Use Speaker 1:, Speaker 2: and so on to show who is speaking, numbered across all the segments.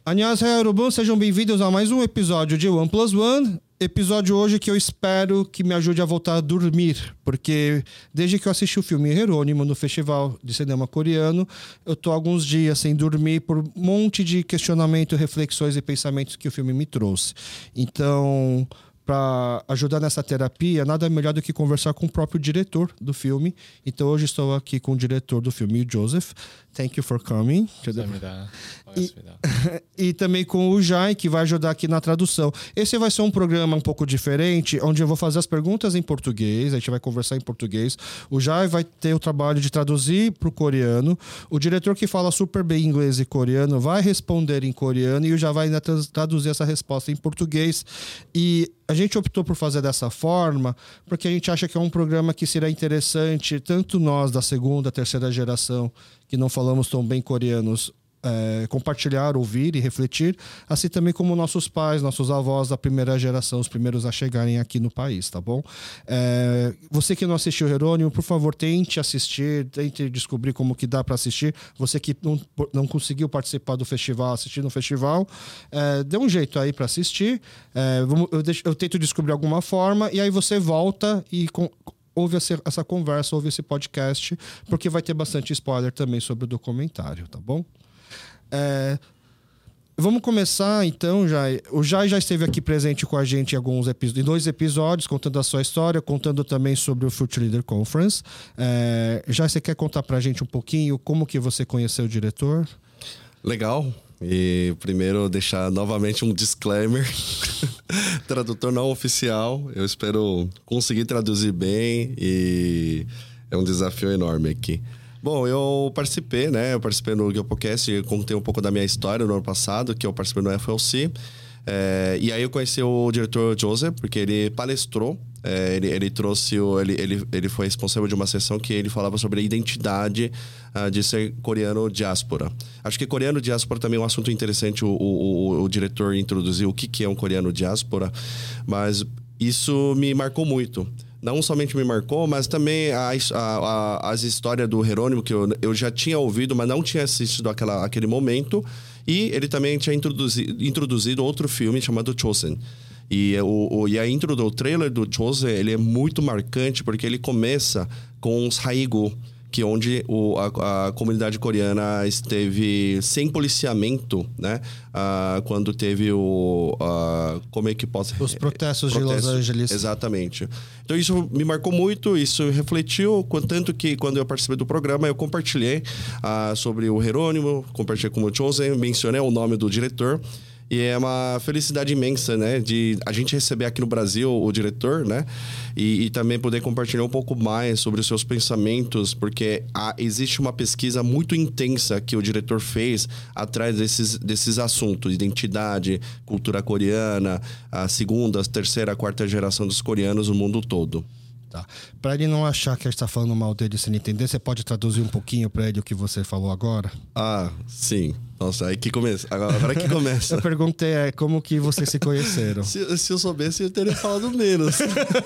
Speaker 1: Annyeonghaseyo, 여러분. Sejam bem-vindos a mais um episódio de One Plus One. Episódio hoje que eu espero que me ajude a voltar a dormir, porque desde que eu assisti o filme Jerônimo no Festival de Cinema Coreano, eu tô alguns dias sem dormir por um monte de questionamento, reflexões e pensamentos que o filme me trouxe. Então, para ajudar nessa terapia, nada melhor do que conversar com o próprio diretor do filme. Então, hoje estou aqui com o diretor do filme, o Joseph. Thank you for coming. E também com o Jai, que vai ajudar aqui na tradução. Esse vai ser um programa um pouco diferente, onde eu vou fazer as perguntas em português, a gente vai conversar em português. O Jai vai ter o trabalho de traduzir para o coreano. O diretor, que fala super bem inglês e coreano, vai responder em coreano e o Jai vai ainda traduzir essa resposta em português. E a gente optou por fazer dessa forma porque a gente acha que é um programa que será interessante, tanto nós da segunda, terceira geração, que não falamos tão bem coreanos, compartilhar, ouvir e refletir, assim também como nossos pais, nossos avós da primeira geração, os primeiros a chegarem aqui no país, tá bom? Você que não assistiu Jerônimo, por favor, tente assistir, tente descobrir como que dá para assistir. Você que não conseguiu participar do festival, assistir no festival, dê um jeito aí para assistir. Eu tento descobrir alguma forma e aí você volta e ouve essa conversa, ouve esse podcast, porque vai ter bastante spoiler também sobre o documentário, tá bom? Vamos começar então, Jai. O Jai já esteve aqui presente com a gente em 2 episódios, contando a sua história, contando também sobre o Future Leader Conference. Jai, você quer contar pra gente um pouquinho como que você conheceu o diretor?
Speaker 2: Legal. E primeiro deixar novamente um disclaimer. Tradutor não oficial. Eu espero conseguir traduzir bem e é um desafio enorme aqui. Bom, eu participei no GeoPodcast, contei um pouco da minha história no ano passado, que eu participei no FLC. E aí eu conheci o diretor Joseph, porque ele palestrou. Ele foi responsável de uma sessão que ele falava sobre a identidade de ser coreano diáspora. Acho que coreano diáspora também é um assunto interessante. O diretor introduziu o que é um coreano diáspora, mas isso me marcou muito. Não somente me marcou, mas também as histórias do Jerônimo, que eu já tinha ouvido, mas não tinha assistido aquele momento. E ele também tinha introduzido outro filme chamado Chosen. E a intro do trailer do Chosen, ele é muito marcante, porque ele começa com os Haigu, que é onde a comunidade coreana esteve sem policiamento, né? Quando teve como é que posso...
Speaker 1: Os protestos de Los Angeles.
Speaker 2: Exatamente. Então isso me marcou muito, isso refletiu, tanto que quando eu participei do programa, eu compartilhei sobre o Jerônimo, compartilhei com o Chosen, mencionei o nome do diretor. E é uma felicidade imensa, né? De a gente receber aqui no Brasil o diretor, né? E também poder compartilhar um pouco mais sobre os seus pensamentos, porque existe uma pesquisa muito intensa que o diretor fez atrás desses assuntos. Identidade, cultura coreana, a segunda, a terceira, a quarta geração dos coreanos no mundo todo.
Speaker 1: Tá. Para ele não achar que a gente está falando mal dele sem entender, você pode traduzir um pouquinho para ele o que você falou agora?
Speaker 2: Sim. Nossa, aí que começa. Agora que começa.
Speaker 1: Eu perguntei como que vocês se conheceram.
Speaker 2: se eu soubesse, eu teria falado menos.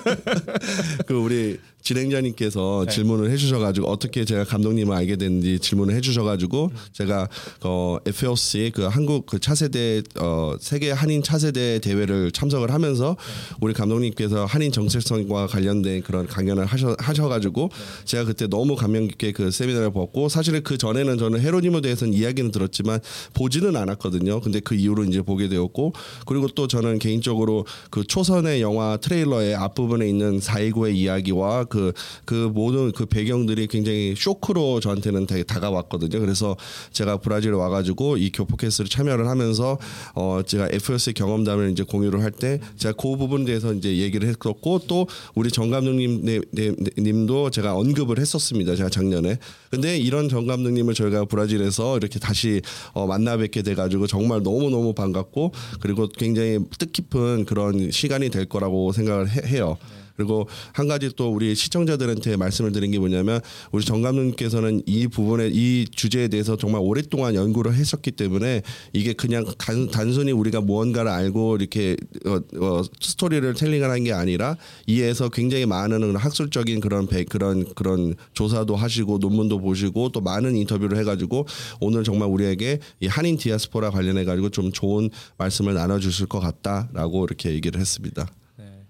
Speaker 2: 우리 진행자님께서 질문을 해주셔가지고 어떻게 제가 감독님을 알게 됐는지 질문을 해주셔가지고 제가 FLC 한국 차세대 세계 한인 차세대 대회를 참석을 하면서 우리 감독님께서 한인 정체성과 관련된 그런 강연을 하셔가지고 제가 그때 너무 감명 깊게 그 세미나를 보고 사실은 그 전에는 저는 헤로니모에 대해서는 이야기는 들었지만 보지는 않았거든요. 근데 그 이후로 이제 보게 되었고, 그리고 또 저는 개인적으로 그 초선의 영화 트레일러의 앞부분에 있는 4.19의 이야기와 그 모든 그 배경들이 굉장히 쇼크로 저한테는 되게 다가왔거든요. 그래서 제가 브라질에 와가지고 이 교포캐스트를 참여를 하면서 제가 FLC 경험담을 이제 공유를 할 때 제가 그 부분에 대해서 이제 얘기를 했었고, 또 우리 정 감독님도 제가 언급을 했었습니다. 제가 작년에. 근데 이런 정 감독님을 저희가 브라질에서 이렇게 다시 만나 뵙게 돼가지고 정말 너무너무 반갑고, 그리고 굉장히 뜻깊은 그런 시간이 될 거라고 생각을 해요. 그리고 한 가지 또 우리 시청자들한테 말씀을 드린 게 뭐냐면 우리 정 감독님께서는 이 주제에 대해서 정말 오랫동안 연구를 했었기 때문에 이게 그냥 단순히 우리가 무언가를 알고 이렇게 스토리를 텔링을 한 게 아니라 이에서 굉장히 많은 학술적인 그런 조사도 하시고 논문도 보시고 또 많은 인터뷰를 해가지고 오늘 정말 우리에게 이 한인 디아스포라 관련해 가지고 좀 좋은 말씀을 나눠주실 것 같다라고 이렇게 얘기를 했습니다.
Speaker 3: 네.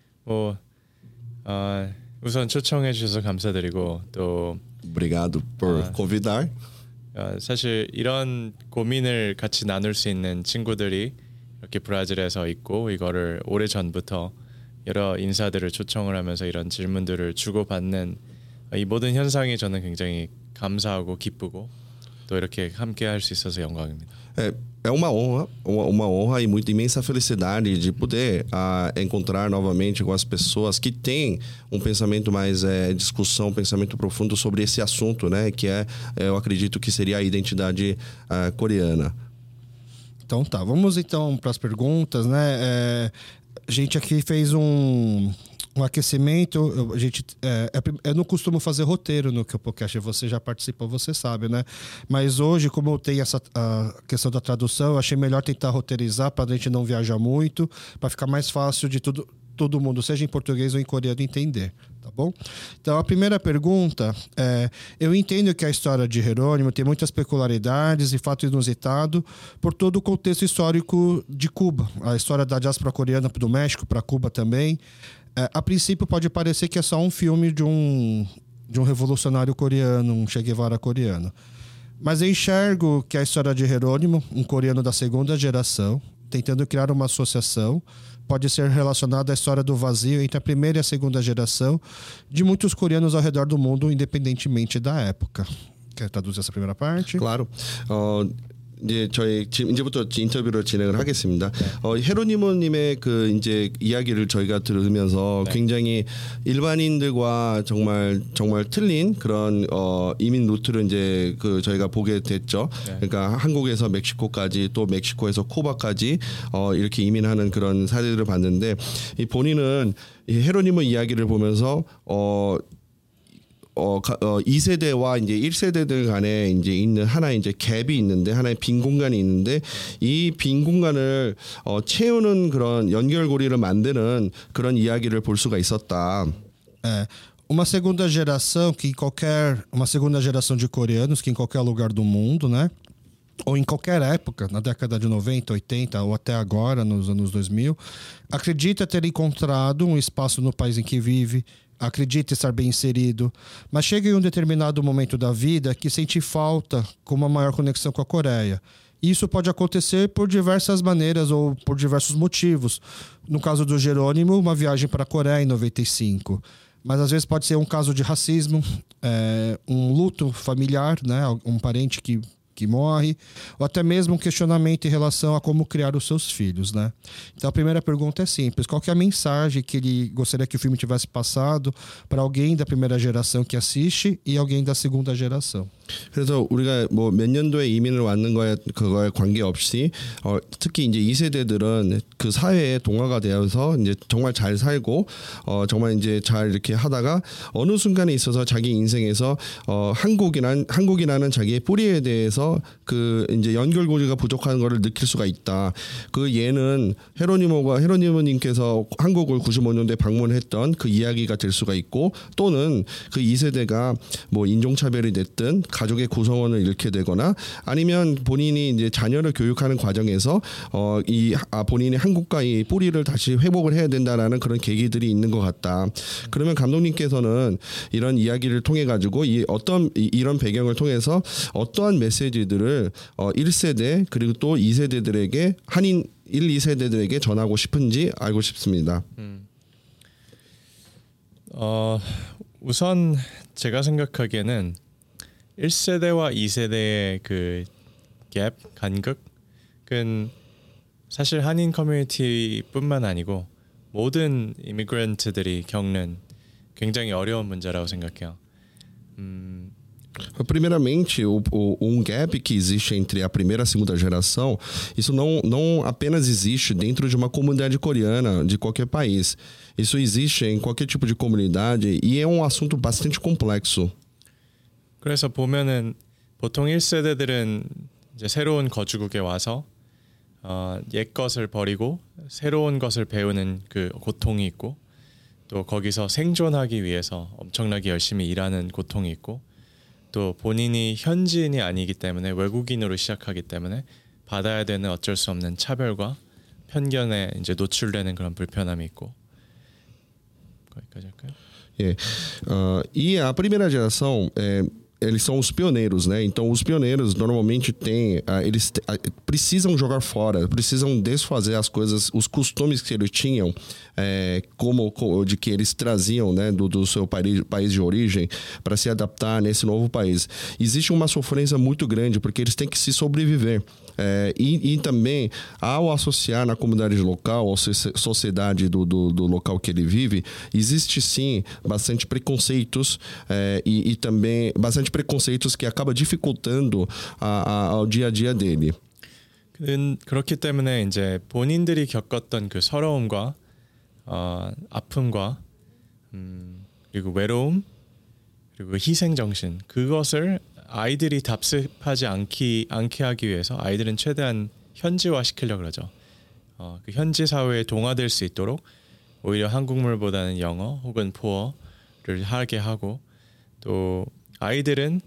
Speaker 3: 우선 초청해 주셔서 감사드리고 또
Speaker 2: Obrigado por convidar.
Speaker 3: 사실 이런 고민을 같이 나눌 수 있는 친구들이 이렇게 브라질에서 있고 이거를 오래 전부터 여러 인사들을 초청을 하면서 이런 질문들을 주고받는 이 모든 현상이 저는 굉장히 감사하고 기쁘고 또 이렇게 함께 할 수 있어서 영광입니다.
Speaker 2: É uma honra e muita imensa felicidade de poder encontrar novamente com as pessoas que têm um pensamento mais discussão, um pensamento profundo sobre esse assunto, né? Que eu acredito que seria a identidade coreana.
Speaker 1: Então tá, vamos então para as perguntas, né? A gente aqui fez um aquecimento. Eu não costumo fazer roteiro no podcast, você já participou, você sabe, né? Mas hoje, como eu tenho a questão da tradução, eu achei melhor tentar roteirizar para a gente não viajar muito, para ficar mais fácil de todo mundo, seja em português ou em coreano, entender, tá bom? Então, a primeira pergunta é: eu entendo que a história de Jerônimo tem muitas peculiaridades e fato inusitado por todo o contexto histórico de Cuba, a história da diáspora coreana do México para Cuba também. A princípio pode parecer que é só um filme de um revolucionário coreano, um Che Guevara coreano. Mas eu enxergo que a história de Jerônimo, um coreano da segunda geração, tentando criar uma associação, pode ser relacionada à história do vazio entre a primeira e a segunda geração de muitos coreanos ao redor do mundo, independentemente da época. Quer traduzir essa primeira parte?
Speaker 2: Claro. 이제 저희 이제부터 인터뷰를 진행을 하겠습니다. 헤로니모님의 그 이제 이야기를 저희가 들으면서 굉장히 일반인들과 정말 틀린 그런 이민 루트를 이제 그 저희가 보게 됐죠. 그러니까 한국에서 멕시코까지 또 멕시코에서 쿠바까지 이렇게 이민하는 그런 사례들을 봤는데 이 본인은 이 헤로니모 이야기를 보면서 2세대와 이제 1세대들 간에 이제 있는 하나의 이제 갭이 있는데 하나의 빈 공간이 있는데 이 빈 공간을 채우는 그런 연결고리를 만드는 그런 이야기를 볼 수가 있었다.
Speaker 1: Uma segunda geração uma segunda geração de coreanos que em qualquer lugar do mundo, né? Ou em qualquer época, na década de 90, 80 ou até agora, nos anos 2000, acredita ter encontrado um espaço no país em que vive, acredita estar bem inserido, mas chega em um determinado momento da vida que sente falta com uma maior conexão com a Coreia. Isso pode acontecer por diversas maneiras ou por diversos motivos. No caso do Jerônimo, uma viagem para a Coreia em 95. Mas às vezes pode ser um caso de racismo, um luto familiar, né? Um parente que morre, ou até mesmo um questionamento em relação a como criar os seus filhos, né? Então a primeira pergunta é simples: qual que é a mensagem que ele gostaria que o filme tivesse passado para alguém da primeira geração que assiste e alguém da segunda geração?
Speaker 2: 그래서 우리가 뭐 몇 년도에 이민을 왔는 그거에 관계없이 특히 이제 2세대들은 그 사회에 동화가 되어서 이제 정말 잘 살고 정말 이제 잘 이렇게 하다가 어느 순간에 있어서 자기 인생에서 한국이라는 자기의 뿌리에 대해서 그 이제 연결고리가 부족한 거를 느낄 수가 있다. 그 예는 헤로니모님께서 한국을 95년도에 방문했던 그 이야기가 될 수가 있고, 또는 그 2세대가 뭐 인종차별이 됐든 가족의 구성원을 잃게 되거나 아니면 본인이 이제 자녀를 교육하는 과정에서 본인이 한국과 이 뿌리를 다시 회복을 해야 된다라는 그런 계기들이 있는 것 같다. 그러면 감독님께서는 이런 이야기를 통해 가지고 이런 배경을 통해서 어떠한 메시지들을 1세대 그리고 또 2세대들에게 한인 1, 2세대들에게 전하고 싶은지 알고 싶습니다.
Speaker 3: 우선 제가 생각하기에는 1세대와 2세대의 그 갭, 간극은 사실 한인 커뮤니티뿐만 아니고 모든 이미그런트들이 겪는 굉장히 어려운 문제라고 생각해요.
Speaker 2: Primeiramente, um gap que existe entre a primeira e a segunda geração, isso não apenas existe dentro de uma comunidade coreana de qualquer país. Isso existe em qualquer tipo de comunidade e é um assunto bastante complexo.
Speaker 3: 그래서 보면은 보통 1세대들은 이제 새로운 거주국에 와서 옛 것을 버리고 새로운 것을 배우는 그 고통이 있고 또 거기서 생존하기 위해서 엄청나게 열심히 일하는 고통이 있고 또 본인이 현지인이 아니기 때문에 외국인으로 시작하기 때문에 받아야 되는 어쩔 수 없는 차별과 편견에 이제 노출되는 그런 불편함이 있고 거기까지 할까요?
Speaker 2: É. E a primeira geração, eles são os pioneiros, né? Então, os pioneiros normalmente eles precisam jogar fora, precisam desfazer as coisas, os costumes que eles tinham, como de que eles traziam, né, do seu país de origem, para se adaptar nesse novo país. Existe uma sofrência muito grande, porque eles têm que se sobreviver. E também, ao associar na comunidade local, ou sociedade do local que ele vive, existe sim bastante preconceitos e também bastante preconceitos que acaba dificultando ao dia a dia dele.
Speaker 3: 그렇기 때문에 이제 본인들이 겪었던 그 서러움과 아픔과 그리고 외로움 그리고 희생 정신 그것을 아이들이 답습하지 않게 하기 위해서 아이들은 최대한 현지화 시키려고 그러죠. 그 현지 사회에 동화될 수 있도록 오히려 한국말보다는 영어 혹은 포어를 하게 하고 또 아이들은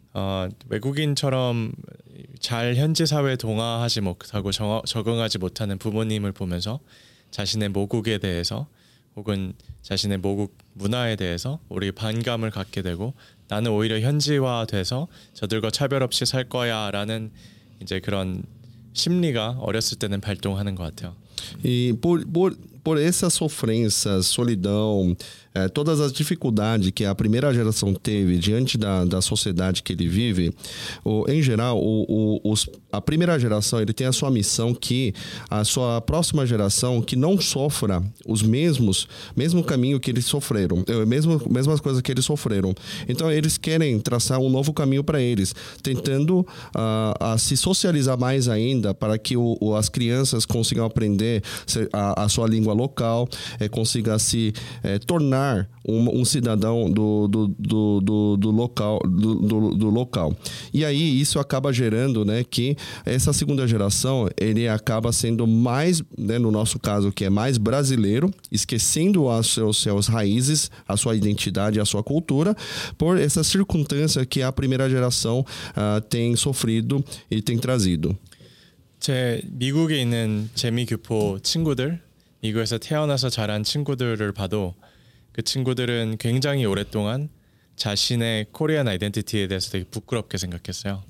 Speaker 3: 외국인처럼 잘 현지 사회에 동화하지 못하고 적응하지 못하는 부모님을 보면서 자신의 모국에 대해서 혹은 자신의 모국 문화에 대해서 우리 반감을 갖게 되고 나는 오히려 현지화돼서 저들과 차별 없이 살 거야라는 이제 그런 심리가 어렸을 때는 발동하는 것 같아요.
Speaker 2: E por essa sofrência, solidão, todas as dificuldades que a primeira geração teve diante da sociedade que ele vive, em geral, a primeira geração ele tem a sua missão que a sua próxima geração que não sofra os mesmo caminho que eles sofreram, mesmas coisas que eles sofreram. Então eles querem traçar um novo caminho para eles, tentando se socializar mais ainda para que as crianças consigam aprender a sua língua local, consiga se tornar um cidadão do local. E aí isso acaba gerando, né, que essa segunda geração ele acaba sendo mais, né, no nosso caso que é mais brasileiro, esquecendo as suas raízes, a sua identidade, a sua cultura, por essa circunstância que a primeira geração tem sofrido e tem trazido.
Speaker 3: 제 미국에 있는 재미교포 친구들, 미국에서 태어나서 자란 친구들을 봐도 그 친구들은 굉장히 오랫동안 자신의 코리안 아이덴티티에 대해서 되게 부끄럽게 생각했어요.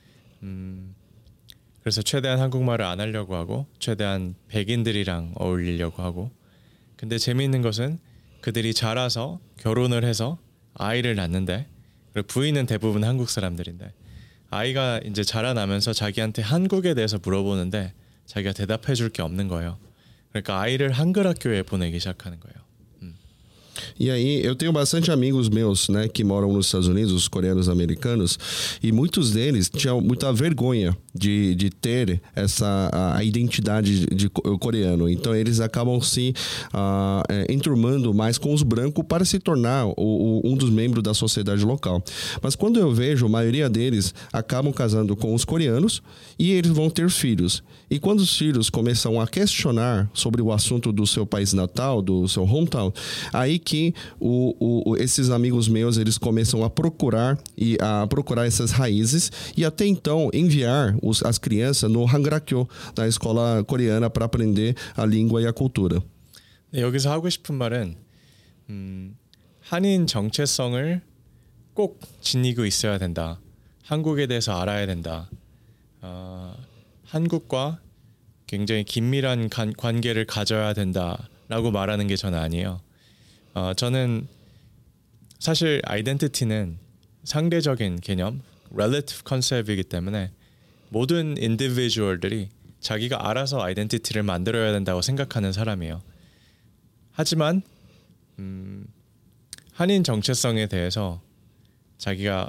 Speaker 3: 그래서 최대한 한국말을 안 하려고 하고 최대한 백인들이랑 어울리려고 하고 근데 재미있는 것은 그들이 자라서 결혼을 해서 아이를 낳는데 그리고 부인은 대부분 한국 사람들인데 아이가 이제 자라나면서 자기한테 한국에 대해서 물어보는데 자기가 대답해 줄 게 없는 거예요. 그러니까 아이를 한글 학교에 보내기 시작하는 거예요.
Speaker 2: E aí, eu tenho bastante amigos meus, né, que moram nos Estados Unidos, os coreanos americanos, e muitos deles tinham muita vergonha de ter a identidade de coreano. Então, eles acabam se enturmando mais com os brancos para se tornar um dos membros da sociedade local. Mas quando eu vejo, a maioria deles acabam casando com os coreanos e eles vão ter filhos. E quando os filhos começam a questionar sobre o assunto do seu país natal, do seu hometown, aí que esses amigos meus eles começam a procurar essas raízes e até então enviar as crianças no Hangrakyo, na escola coreana, para aprender a língua e a cultura.
Speaker 3: 네, 여기서 하고 싶은 말은 한인 정체성을 꼭 지니고 있어야 된다. 한국에 대해서 알아야 된다. 한국과 굉장히 긴밀한 관계를 가져야 된다라고 말하는 게 저는 아니에요. 저는 사실 아이덴티티는 상대적인 개념, relative concept이기 때문에 모든 인디비주얼들이 자기가 알아서 아이덴티티를 만들어야 된다고 생각하는 사람이에요. 하지만 한인 정체성에 대해서 자기가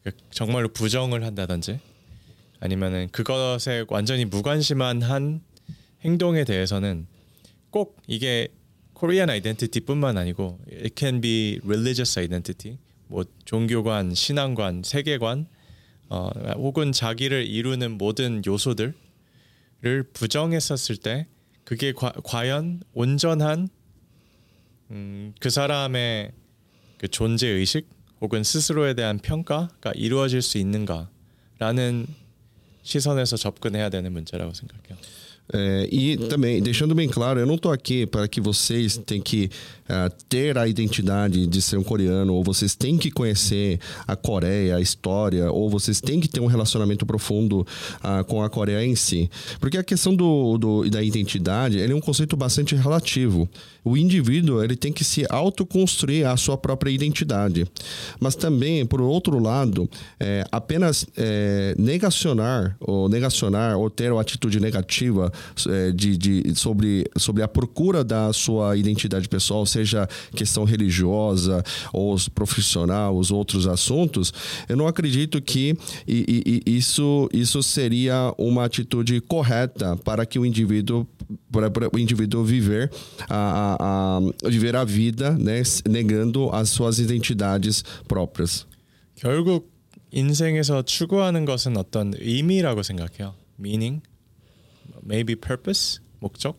Speaker 3: 정말로 부정을 한다든지 아니면은 그것에 완전히 무관심한 한 행동에 대해서는 꼭 이게 Korean identity뿐만 아니고 it can be religious identity, 뭐 종교관, 신앙관, 세계관, 혹은 자기를 이루는 모든 요소들을 부정했었을 때 그게 과연 온전한 그 사람의 그 존재 의식 혹은 스스로에 대한 평가가 이루어질 수 있는가라는 시선에서 접근해야 되는 문제라고 생각해요.
Speaker 2: E também, deixando bem claro, eu não estou aqui para que vocês tenham que ter a identidade de ser um coreano, ou vocês têm que conhecer a Coreia, a história, ou vocês têm que ter um relacionamento profundo com a Coreia em si. Porque a questão da identidade, ele é um conceito bastante relativo. O indivíduo, ele tem que se autoconstruir a sua própria identidade. Mas também, por outro lado, apenas negacionar ou ter uma atitude negativa sobre a procura da sua identidade pessoal, seja questão religiosa ou profissional, os outros assuntos, eu não acredito que isso seria uma atitude correta para que o indivíduo viver viver a vida, né, negando as suas identidades próprias.
Speaker 3: 결국 인생에서 추구하는 것은 어떤 의미라고 생각해요. Meaning, maybe purpose, 목적.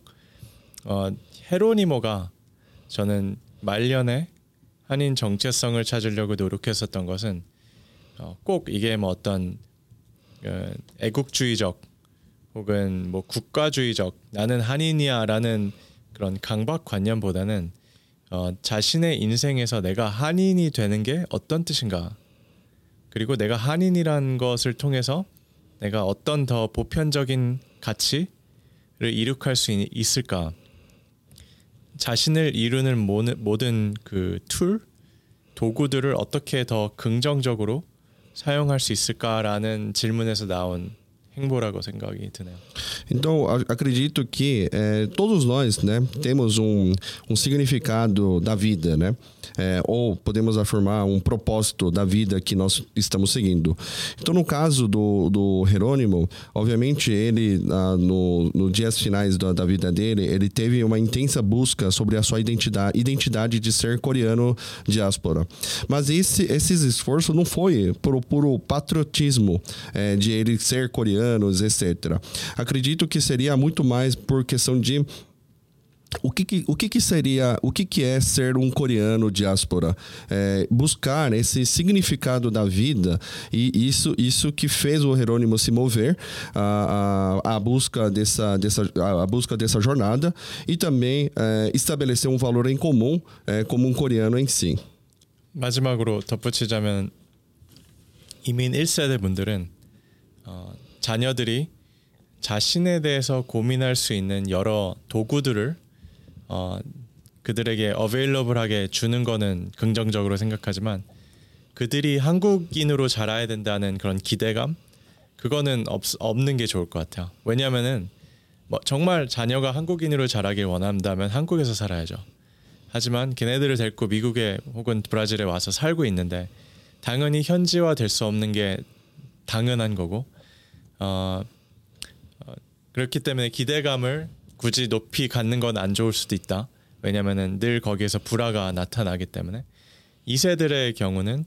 Speaker 3: 헤로니모가 저는 말년에 한인 정체성을 찾으려고 노력했었던 것은 꼭 이게 뭐 어떤 애국주의적 혹은 뭐 국가주의적 나는 한인이야라는 그런 강박관념보다는 자신의 인생에서 내가 한인이 되는 게 어떤 뜻인가, 그리고 내가 한인이라는 것을 통해서 내가 어떤 더 보편적인 가치를 이룩할 수 있을까, 자신을 이루는 모든 그 도구들을 어떻게 더 긍정적으로 사용할 수 있을까라는 질문에서 나온 행보라고 생각이 드네요.
Speaker 2: Então, acredito que todos nós, né, temos um significado da vida, né? Ou podemos afirmar um propósito da vida que nós estamos seguindo. Então, no caso do Jerônimo, obviamente ele nos dias finais da vida dele, ele teve uma intensa busca sobre a sua identidade de ser coreano diáspora. Mas esse esforço não foi por puro patriotismo de ele ser coreano, etc. Acredito que seria muito mais por questão de o que é ser um coreano diáspora, buscar esse significado da vida, e isso que fez o Jerônimo se mover a busca dessa jornada, e também estabelecer um valor em comum como um coreano em si.
Speaker 3: 마지막으로 덧붙이자면 이민 1세대 분들은 자녀들이 자신에 대해서 고민할 수 있는 여러 도구들을 그들에게 어베일러블하게 주는 거는 긍정적으로 생각하지만 그들이 한국인으로 자라야 된다는 그런 기대감, 그거는 없는 게 좋을 것 같아요. 왜냐하면은 뭐 정말 자녀가 한국인으로 자라길 원한다면 한국에서 살아야죠. 하지만 걔네들을 데리고 미국에 혹은 브라질에 와서 살고 있는데 당연히 현지화 될 수 없는 게 당연한 거고, 그렇기 때문에 기대감을 굳이 높이 갖는 건 안 좋을 수도 있다. 왜냐면은 늘 거기에서 불화가 나타나기 때문에. 2세들의 경우는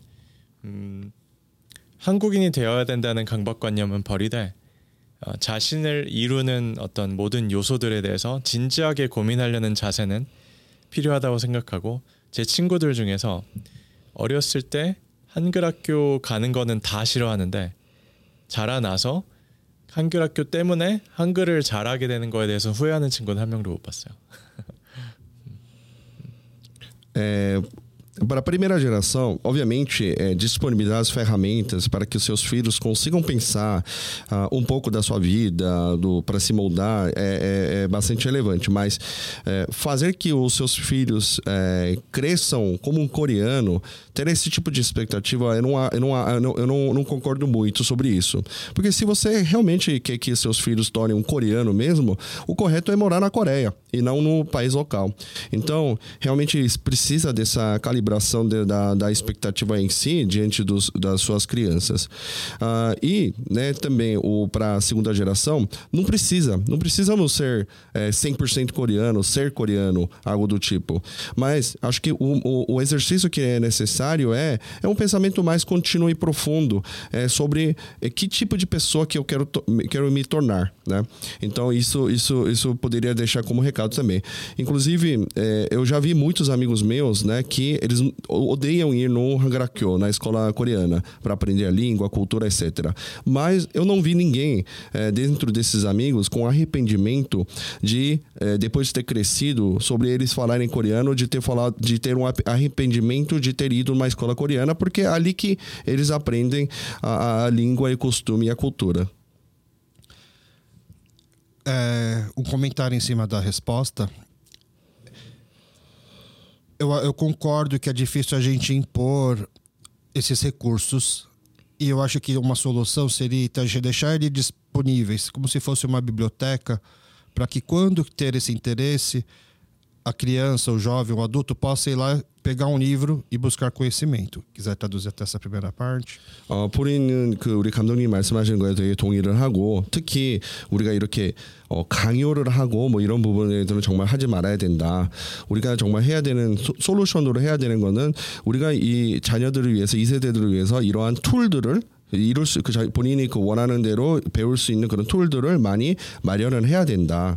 Speaker 3: 한국인이 되어야 된다는 강박관념은 버리되 자신을 이루는 어떤 모든 요소들에 대해서 진지하게 고민하려는 자세는 필요하다고 생각하고, 제 친구들 중에서 어렸을 때 한글 학교 가는 거는 다 싫어하는데 자라나서 한글 학교 때문에 한글을 잘하게 되는 거에 대해서 후회하는 친구는 한 명도 못 봤어요.
Speaker 2: Para a primeira geração, obviamente, disponibilizar as ferramentas para que os seus filhos consigam pensar um pouco da sua vida, para se moldar, é bastante relevante. Mas fazer que os seus filhos cresçam como um coreano, ter esse tipo de expectativa, eu não concordo muito sobre isso. Porque se você realmente quer que seus filhos tornem um coreano mesmo, o correto é morar na Coreia e não no país local. Então, realmente precisa dessa calibração calibração da expectativa em si diante das suas crianças. E, né, também para a segunda geração, não precisamos ser 100% coreano, ser coreano, algo do tipo. Mas acho que o exercício que é necessário é um pensamento mais contínuo e profundo sobre que tipo de pessoa que eu quero me tornar, né? Então isso poderia deixar como recado também. Inclusive, eu já vi muitos amigos meus, né, que eles odeiam ir no Hangarakkyo, na escola coreana, para aprender a língua, a cultura, etc. Mas eu não vi ninguém dentro desses amigos com arrependimento de, depois de ter crescido, sobre eles falarem coreano, de ter um arrependimento de ter ido numa escola coreana, porque é ali que eles aprendem a língua e o costume e a cultura.
Speaker 1: Um comentário em cima da resposta. Eu concordo que é difícil a gente impor esses recursos, e eu acho que uma solução seria deixar eles disponíveis, como se fosse uma biblioteca, para que quando ter esse interesse, a criança, o jovem, o adulto possa ir lá pegar um livro e buscar conhecimento. quiser traduzir até essa primeira parte.
Speaker 2: 보리는 우리 감독님 말씀하시는 거에 되게 동의를 하고, 특히 우리가 이렇게 강요를 하고 뭐 이런 부분에서는 정말 하지 말아야 된다. 우리가 정말 해야 되는 솔루션으로 해야 되는 거는, 우리가 이 자녀들을 위해서, 이 세대들을 위해서 이러한 툴들을 본인이 원하는 대로 배울 수 있는 그런 툴들을 많이 마련을 해야 된다.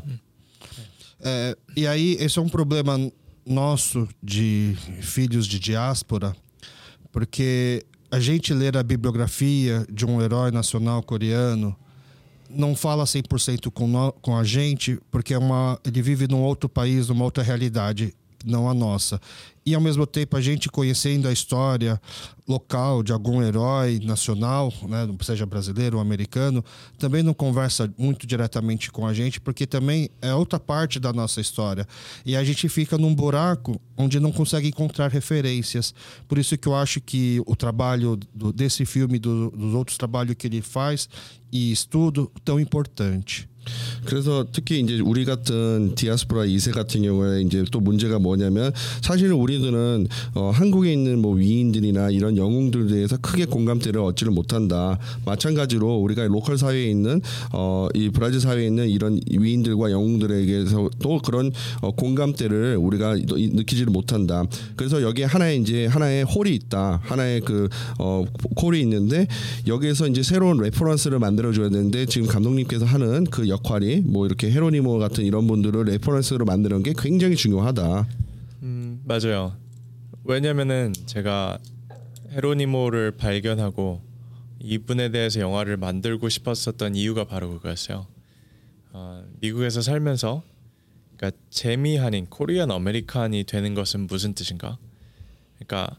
Speaker 1: E aí, esse é um problema nosso de filhos de diáspora, porque a gente ler a bibliografia de um herói nacional coreano não fala 100% com a gente, porque ele vive num outro país, numa outra realidade, não a nossa. E ao mesmo tempo a gente conhecendo a história local de algum herói nacional, né, seja brasileiro ou americano, também não conversa muito diretamente com a gente, porque também é outra parte da nossa história. E a gente fica num buraco onde não consegue encontrar referências. Por isso que eu acho que o trabalho desse filme, dos outros trabalhos que ele faz e estudo, tão importante.
Speaker 2: 그래서 특히 이제 우리 같은 디아스포라 2세 같은 경우에 이제 또 문제가 뭐냐면, 사실은 우리들은 한국에 있는 뭐 위인들이나 이런 영웅들에 대해서 크게 공감대를 얻지를 못한다. 마찬가지로 우리가 로컬 사회에 있는 이 브라질 사회에 있는 이런 위인들과 영웅들에게서 또 그런 공감대를 우리가 느끼지를 못한다. 그래서 여기에 하나의 홀이 있다. 하나의 홀이 있는데, 여기에서 이제 새로운 레퍼런스를 만들어 줘야 되는데, 지금 감독님께서 하는 그 역할이 뭐 이렇게 헤로니모 같은 이런 분들을 레퍼런스로 만드는 게 굉장히 중요하다.
Speaker 3: 맞아요. 왜냐면은 제가 헤로니모를 발견하고 이분에 대해서 영화를 만들고 싶었었던 이유가 바로 그거였어요. 미국에서 살면서, 그러니까 재미한인 코리안 아메리칸이 되는 것은 무슨 뜻인가? 그러니까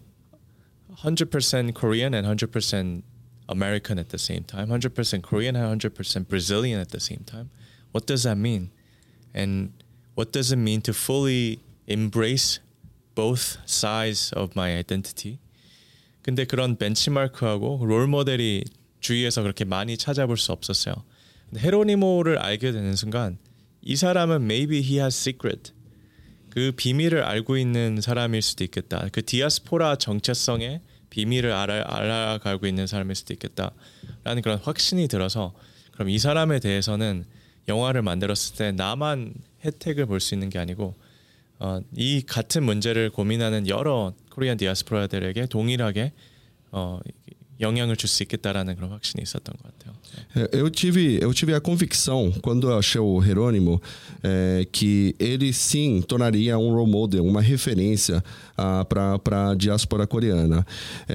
Speaker 3: 100% Korean and 100% American at the same time, 100% Korean and 100% Brazilian at the same time. What does that mean? And what does it mean to fully embrace both sides of my identity? 근데 그런 벤치마크하고 롤 모델이 주위에서 그렇게 많이 찾아볼 수 없었어요. 근데 헤로니모를 알게 되는 순간, 이 사람은 maybe he has secret. 그 비밀을 알고 있는 사람일 수도 있겠다. 그 디아스포라 정체성의 비밀을 알아가고 있는 사람일 수도 있겠다라는 그런 확신이 들어서, 그럼 이 사람에 대해서는 영화를 만들었을 때 나만 혜택을 볼 수 있는 게 아니고 이 같은 문제를 gomin하는 여러 코리안 디아스포라들에게 동일하게 영향을 줄 수 있겠다라는 그런 확신이 있었던 것 같아요.
Speaker 2: Eu tive a convicção, quando eu achei o Jerônimo, que ele sim tornaria um role model, uma referência para a diáspora coreana.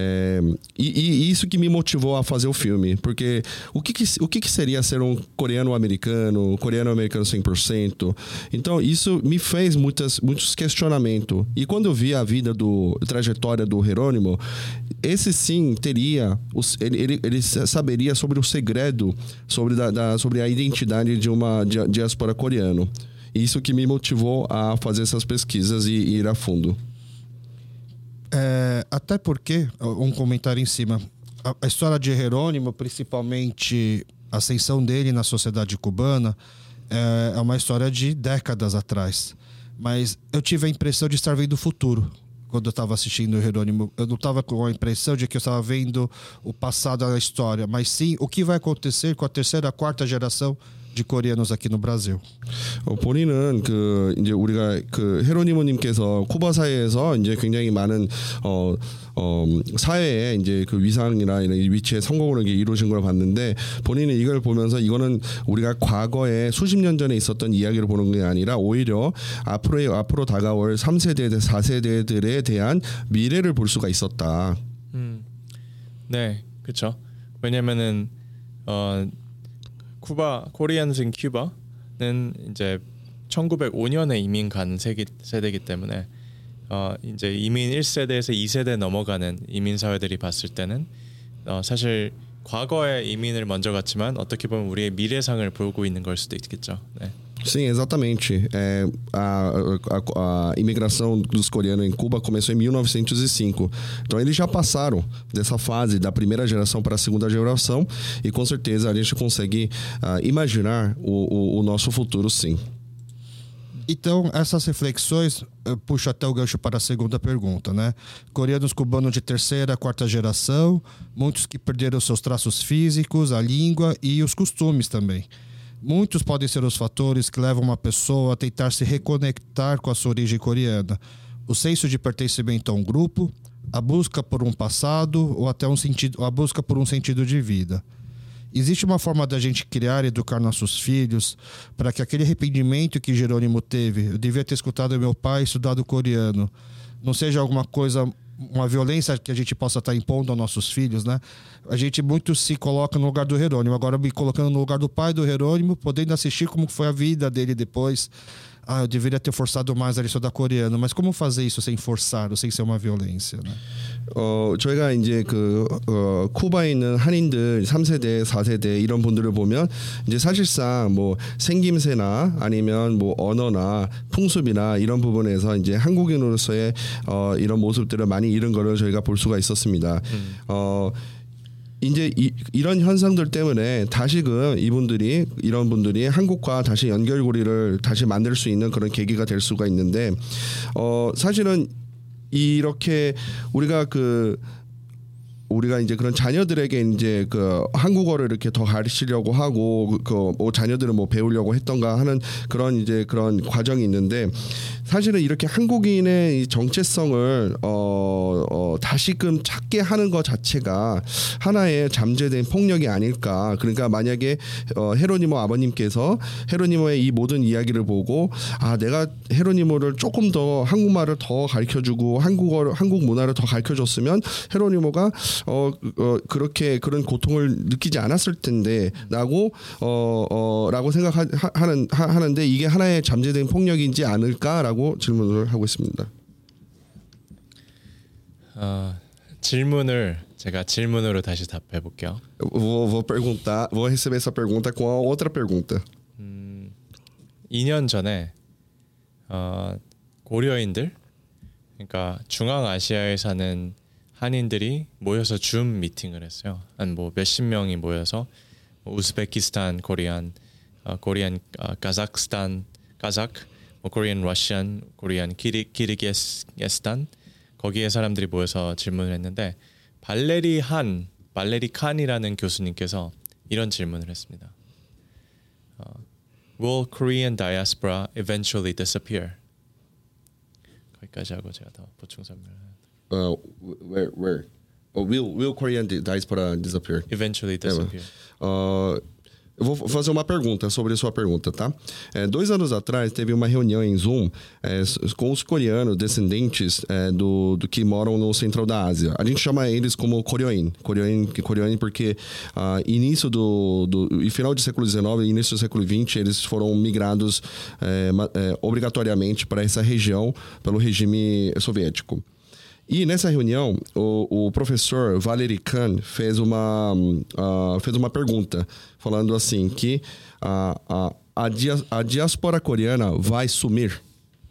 Speaker 2: E isso que me motivou a fazer o filme, porque o que seria ser um coreano-americano 100%? Então isso me fez muitos questionamentos. E quando eu vi a trajetória do Jerônimo, esse sim teria, ele saberia sobre o segredo, sobre a identidade de uma diáspora coreana. Isso que me motivou a fazer essas pesquisas e ir a fundo.
Speaker 1: Até porque, um comentário em cima, a história de Jerônimo, principalmente a ascensão dele na sociedade cubana, é uma história de décadas atrás. Mas eu tive a impressão de estar vendo o futuro. quando eu estava assistindo o Jerônimo. Eu não estava com a impressão de que eu estava vendo o passado da história, mas sim o que vai acontecer com a terceira, quarta geração de coreanos aqui no Brasil.
Speaker 2: 본인은 그 이제 우리가 그 헤로니모님께서 쿠바 사회에서 이제 굉장히 많은 사회에 이제 그 위상이나 이런 위치에 성공을 이루신 걸 봤는데 본인은 이걸 보면서 이거는 우리가 과거에 수십 년 전에 있었던 이야기를 보는 게 아니라 오히려 앞으로 다가올 3세대, 4세대들에 대한 미래를 볼 수가 있었다.
Speaker 3: 네, 그렇죠. 왜냐면은 코리안스 인 큐바는 이제 1905년에 이민 간 세대이기 때문에 이제 이민 1세대에서 2세대 넘어가는 imin 사회들이 봤을 때는 사실 과거에 이민을 먼저 갔지만 어떻게 보면 우리의 미래상을 보고 있는 걸 수도 있겠죠. 네.
Speaker 2: Sim, exatamente. A imigração dos coreanos em Cuba começou em 1905. Então eles já passaram dessa fase da primeira geração para a segunda geração e com certeza a gente consegue imaginar o nosso futuro, sim.
Speaker 1: Então, essas reflexões puxam até o gancho para a segunda pergunta, né? Coreanos cubanos de terceira, quarta geração, muitos que perderam seus traços físicos, a língua e os costumes também. Muitos podem ser os fatores que levam uma pessoa a tentar se reconectar com a sua origem coreana. O senso de pertencimento a um grupo, a busca por um passado ou até a busca por um sentido de vida. Existe uma forma da gente criar e educar nossos filhos para que aquele arrependimento que Jerônimo teve, eu devia ter escutado meu pai, estudado coreano, não seja alguma coisa, uma violência que a gente possa estar impondo aos nossos filhos, né? A gente muito se coloca no lugar do Jerônimo, agora me colocando no lugar do pai do Jerônimo, podendo assistir como foi a vida dele depois. Eu deveria ter forçado mais a estudar coreano, mas como fazer isso sem forçar ou sem ser uma violência, né?
Speaker 2: 저희가 이제 쿠바에 있는 한인들 3세대, 4세대 이런 분들을 보면 이제 사실상 뭐 생김새나 아니면 뭐 언어나 풍습이나 이런 부분에서 이제 한국인으로서의 이런 모습들을 많이 잃은 거를 저희가 볼 수가 있었습니다. 이제 이런 현상들 때문에 다시금 이런 분들이 한국과 다시 연결고리를 다시 만들 수 있는 그런 계기가 될 수가 있는데 사실은 이렇게 우리가 이제 그런 자녀들에게 이제 그 한국어를 이렇게 더 가르치려고 하고 자녀들은 뭐 배우려고 했던가 하는 그런 과정이 있는데 사실은 이렇게 한국인의 이 정체성을 다시금 찾게 하는 것 자체가 하나의 잠재된 폭력이 아닐까. 그러니까 만약에 헤로니모 아버님께서 헤로니모의 이 모든 이야기를 보고 내가 헤로니모를 조금 더 한국말을 더 가르쳐주고 한국 문화를 더 가르쳐줬으면 헤로니모가 그런 고통을 느끼지 않았을 텐데라고 생각하는데 이게 하나의 잠재된 폭력이지 않을까라고 질문을 하고 있습니다.
Speaker 3: 질문을 제가 질문으로 다시 답해 볼게요.
Speaker 2: Vou receber essa pergunta com a outra pergunta.
Speaker 3: 2년 전에 고려인들, 그러니까 중앙아시아에 사는 한인들이 모여서 줌 미팅을 했어요. 한 뭐 몇십 명이 모여서 우즈베키스탄, 코리안, 카자흐스탄, 코리안 러시안, 코리안 키르기스탄 거기에 사람들이 모여서 질문을 했는데 발레리 칸이라는 교수님께서 이런 질문을 했습니다. Will Korean diaspora eventually disappear? 거기까지 하고 제가 더 보충 설명을.
Speaker 2: Where? Will Korean diaspora disappear?
Speaker 3: Eventually disappear.
Speaker 2: Eu vou fazer uma pergunta sobre a sua pergunta, tá? 2 anos atrás teve uma reunião em Zoom com os coreanos descendentes do que moram no central da Ásia. A gente chama eles como Koryoin porque início e final do século XIX e início do século XX eles foram migrados obrigatoriamente para essa região pelo regime soviético. E nessa reunião, o professor Valery Khan fez uma pergunta, falando assim que a diáspora coreana vai sumir.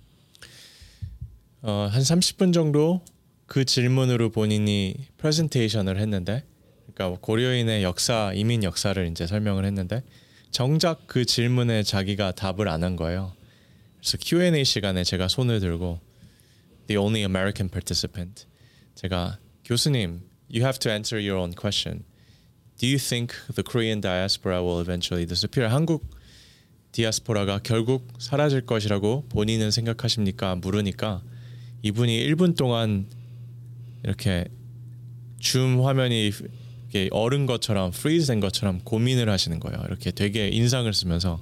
Speaker 3: 한 30분 정도 그 질문으로 본인이 프레젠테이션을 했는데, 그러니까 고려인의 이민 역사를 이제 설명을 했는데, 정작 그 질문에 자기가 답을 안 한 거예요. 그래서 Q&A 시간에 제가 손을 들고 the only American participant. 제가 교수님, you have to answer your own question. Do you think the Korean diaspora will eventually disappear? 한국 디아스포라가 결국 사라질 것이라고 본인은 생각하십니까? 물으니까 이분이 1분 동안 이렇게 줌 화면이 이렇게 얼은 것처럼 freeze 된 것처럼 고민을 하시는 거예요. 이렇게 되게 인상을 쓰면서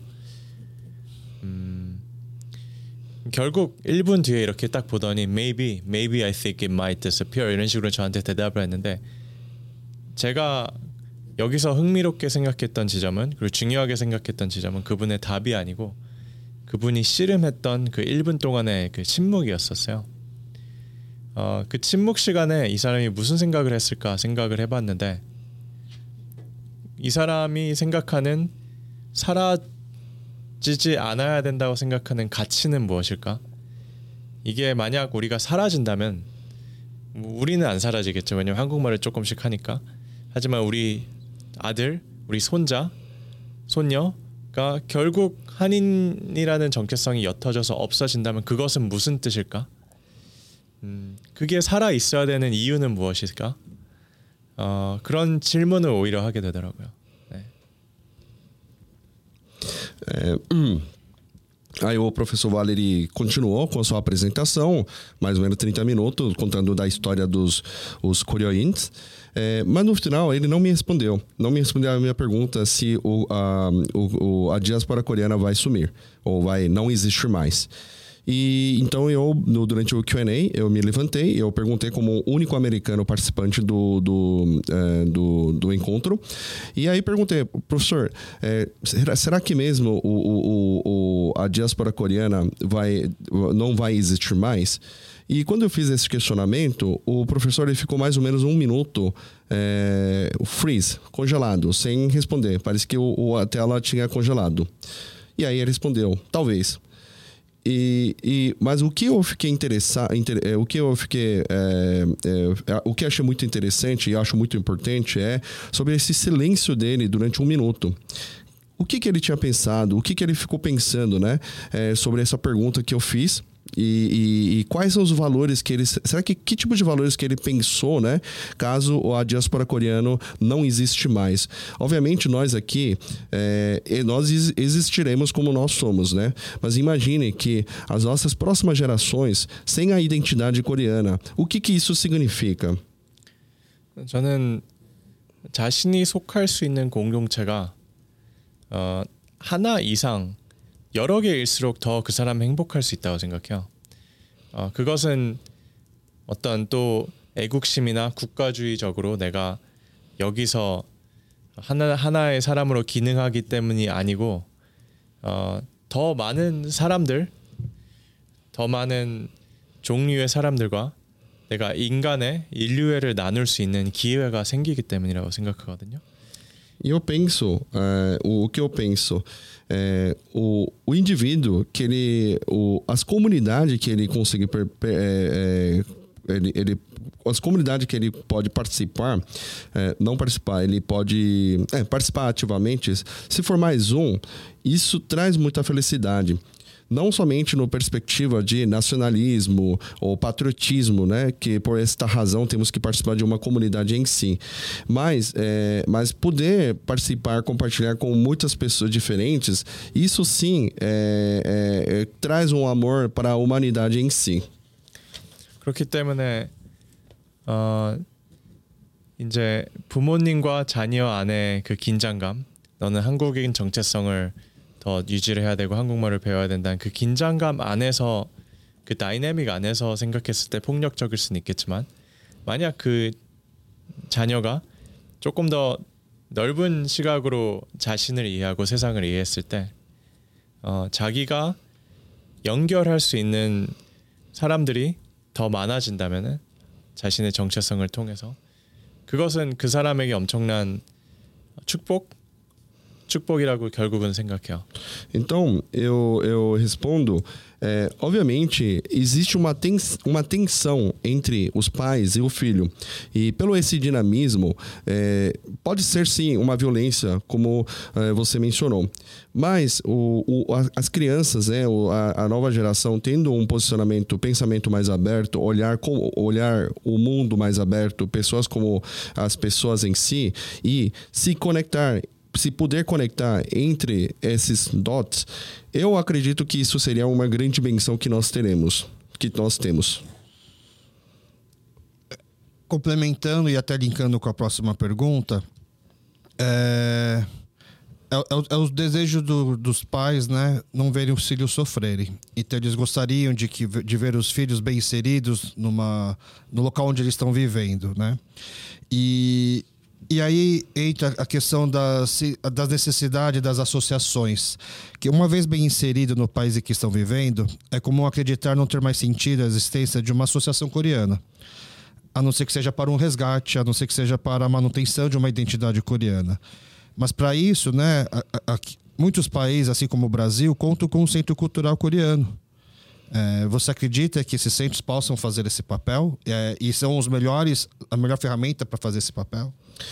Speaker 3: 결국 1분 뒤에 이렇게 딱 보더니 maybe I think it might disappear 이런 식으로 저한테 대답을 했는데 제가 여기서 흥미롭게 생각했던 지점은 그리고 중요하게 생각했던 지점은 그분의 답이 아니고 그분이 씨름했던 그 1분 동안의 그 침묵이었었어요. 그 침묵 시간에 이 사람이 무슨 생각을 했을까 생각을 해봤는데 이 사람이 생각하는 사라지지 않아야 된다고 생각하는 가치는 무엇일까? 이게 만약 우리가 사라진다면 우리는 안 사라지겠죠. 왜냐면 한국말을 조금씩 하니까. 하지만 우리 아들, 우리 손자, 손녀가 결국 한인이라는 정체성이 옅어져서 없어진다면 그것은 무슨 뜻일까? 그게 살아 있어야 되는 이유는 무엇일까? 그런 질문을 오히려 하게 되더라고요. 네.
Speaker 2: Aí o professor Valery continuou com a sua apresentação, mais ou menos 30 minutos, contando da história dos coreanos. Mas no final ele não me respondeu. Não me respondeu a minha pergunta se a diáspora coreana vai sumir ou vai não existir mais. E então durante o Q&A, eu me levantei, eu perguntei como único americano participante do encontro. E aí perguntei, professor, será que mesmo a diáspora coreana não vai existir mais? E quando eu fiz esse questionamento, o professor ele ficou mais ou menos 1 minuto freeze, congelado, sem responder. Parece que a tela tinha congelado. E aí ele respondeu, talvez. Mas o que eu fiquei interessado, o que achei muito interessante e acho muito importante é sobre esse silêncio dele durante 1 minuto. O que ele tinha pensado, o que ele ficou pensando, né, sobre essa pergunta que eu fiz. E quais são os valores que ele... Será que tipo de valores que ele pensou, né? Caso a diáspora coreana não existe mais. Obviamente, nós aqui, nós existiremos como nós somos, né? Mas imagine que as nossas próximas gerações, sem a identidade coreana, o que isso significa?
Speaker 3: 저는 자신이 속할 수 있는 공동체가 하나 이상 여러 개일수록 더 그 사람 행복할 수 있다고 생각해요. 그것은 어떤 또 애국심이나 국가주의적으로 내가 여기서 하나의 사람으로 기능하기 때문이 아니고 더 많은 사람들, 더 많은 종류의 사람들과 내가 인류애를 나눌 수 있는 기회가 생기기 때문이라고 생각하거든요.
Speaker 2: E eu penso, o que eu penso, o indivíduo que as comunidades que ele consegue, as comunidades que ele pode participar, não participar, ele pode participar ativamente. Se for mais isso traz muita felicidade. Não somente no perspectiva de nacionalismo ou patriotismo, né, que por esta razão temos que participar de uma comunidade em si, mas poder participar, compartilhar com muitas pessoas diferentes, isso sim traz amor para a humanidade em si.
Speaker 3: 그렇기 때문에 이제 부모님과 자녀 안에 그 긴장감, 너는 한국인 정체성을 더 유지를 해야 되고 한국말을 배워야 된다는 그 긴장감 안에서 그 다이내믹 안에서 생각했을 때 폭력적일 수는 있겠지만 만약 그 자녀가 조금 더 넓은 시각으로 자신을 이해하고 세상을 이해했을 때 자기가 연결할 수 있는 사람들이 더 많아진다면은 자신의 정체성을 통해서 그것은 그 사람에게 엄청난 축복 축복이라고 결국은 생각해요.
Speaker 2: Então, eu respondo, obviamente, existe uma tensão entre os pais e o filho. E pelo esse dinamismo, pode ser sim uma violência, como você mencionou. Mas as crianças, a nova geração, tendo um pensamento mais aberto, olhar o mundo mais aberto, pessoas como as pessoas em si, e se puder conectar entre esses dots, eu acredito que isso seria uma grande benção que nós temos.
Speaker 1: Complementando e até linkando com a próxima pergunta, é o desejo dos pais, né, não verem os filhos sofrerem. Então eles gostariam de ver os filhos bem inseridos no local onde eles estão vivendo, né? E aí entra a questão das necessidades das associações, que uma vez bem inserido no país em que estão vivendo, é comum acreditar não ter mais sentido a existência de uma associação coreana, a não ser que seja para um resgate, a não ser que seja para a manutenção de uma identidade coreana. Mas para isso, né, muitos países, assim como o Brasil, contam com um centro cultural coreano. Você acredita que esses centros possam fazer esse papel? E são a melhor ferramenta para fazer esse papel?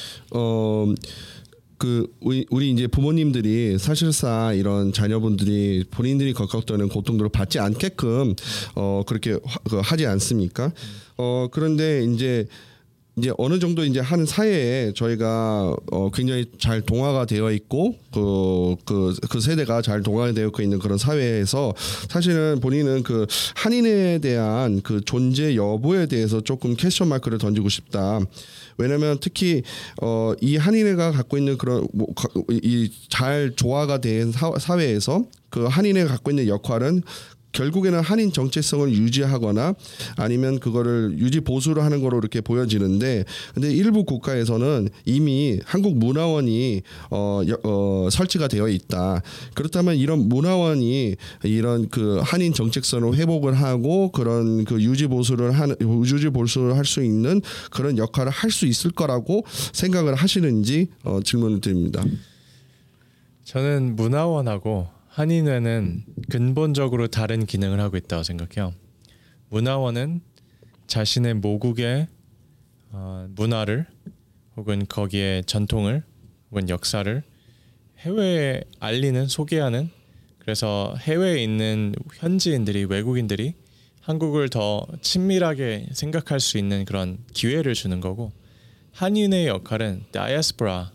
Speaker 2: 우리 이제 부모님들이 사실상 이런 자녀분들이 본인들이 겪었던 고통들을 받지 않게끔 그렇게 하지 않습니까? 그런데 이제 어느 정도 이제 하는 사회에 저희가 굉장히 잘 동화가 되어 있고 그 세대가 잘 동화가 되어 있는 그런 사회에서 사실은 본인은 그 한인에 대한 그 존재 여부에 대해서 조금 퀘스천 마크를 던지고 싶다. 왜냐면 특히 이 한인회가 갖고 있는 그런 이 잘 조화가 된 사회에서 그 한인회가 갖고 있는 역할은 결국에는 한인 정체성을 유지하거나 아니면 그거를 유지 보수를 하는 거로 이렇게 보여지는데, 근데 일부 국가에서는 이미 한국 문화원이 설치가 되어 있다. 그렇다면 이런 문화원이 이런 그 한인 정체성을 회복을 하고 그런 그 유지 보수를 할 수 있는 그런 역할을 할 수 있을 거라고 생각을 하시는지 질문을 드립니다.
Speaker 3: 저는 문화원하고 한인회는 근본적으로 다른 기능을 하고 있다고 생각해요. 문화원은 자신의 모국의 문화를 혹은 거기에 전통을 혹은 역사를 해외에 알리는, 소개하는, 그래서 해외에 있는 현지인들이, 외국인들이 한국을 더 친밀하게 생각할 수 있는 그런 기회를 주는 거고, 한인회의 역할은 다이아스포라의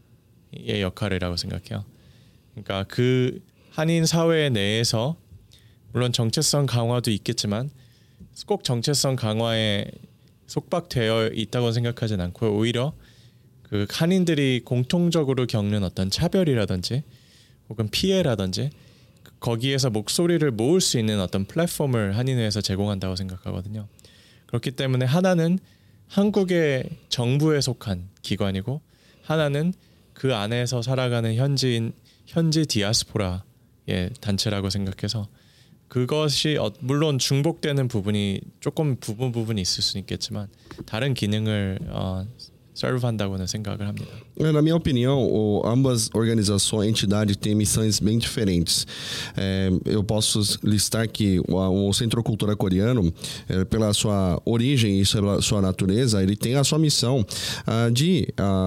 Speaker 3: 역할이라고 생각해요. 그러니까 그 한인 사회 내에서 물론 정체성 강화도 있겠지만 꼭 정체성 강화에 속박되어 있다고 생각하진 않고, 오히려 그 한인들이 공통적으로 겪는 어떤 차별이라든지 혹은 피해라든지 거기에서 목소리를 모을 수 있는 어떤 플랫폼을 한인회에서 제공한다고 생각하거든요. 그렇기 때문에 하나는 한국의 정부에 속한 기관이고 하나는 그 안에서 살아가는 현지 디아스포라 단체라고 생각해서, 그것이 물론 중복되는 부분이 조금 부분이 있을 수 있겠지만 다른 기능을 serve한다고는 생각을 합니다.
Speaker 2: Na minha opinião, ambas organizações, entidades têm missões bem diferentes. Eu posso listar que o Centro Cultura Coreano, pela sua origem e sua natureza, ele tem a sua missão de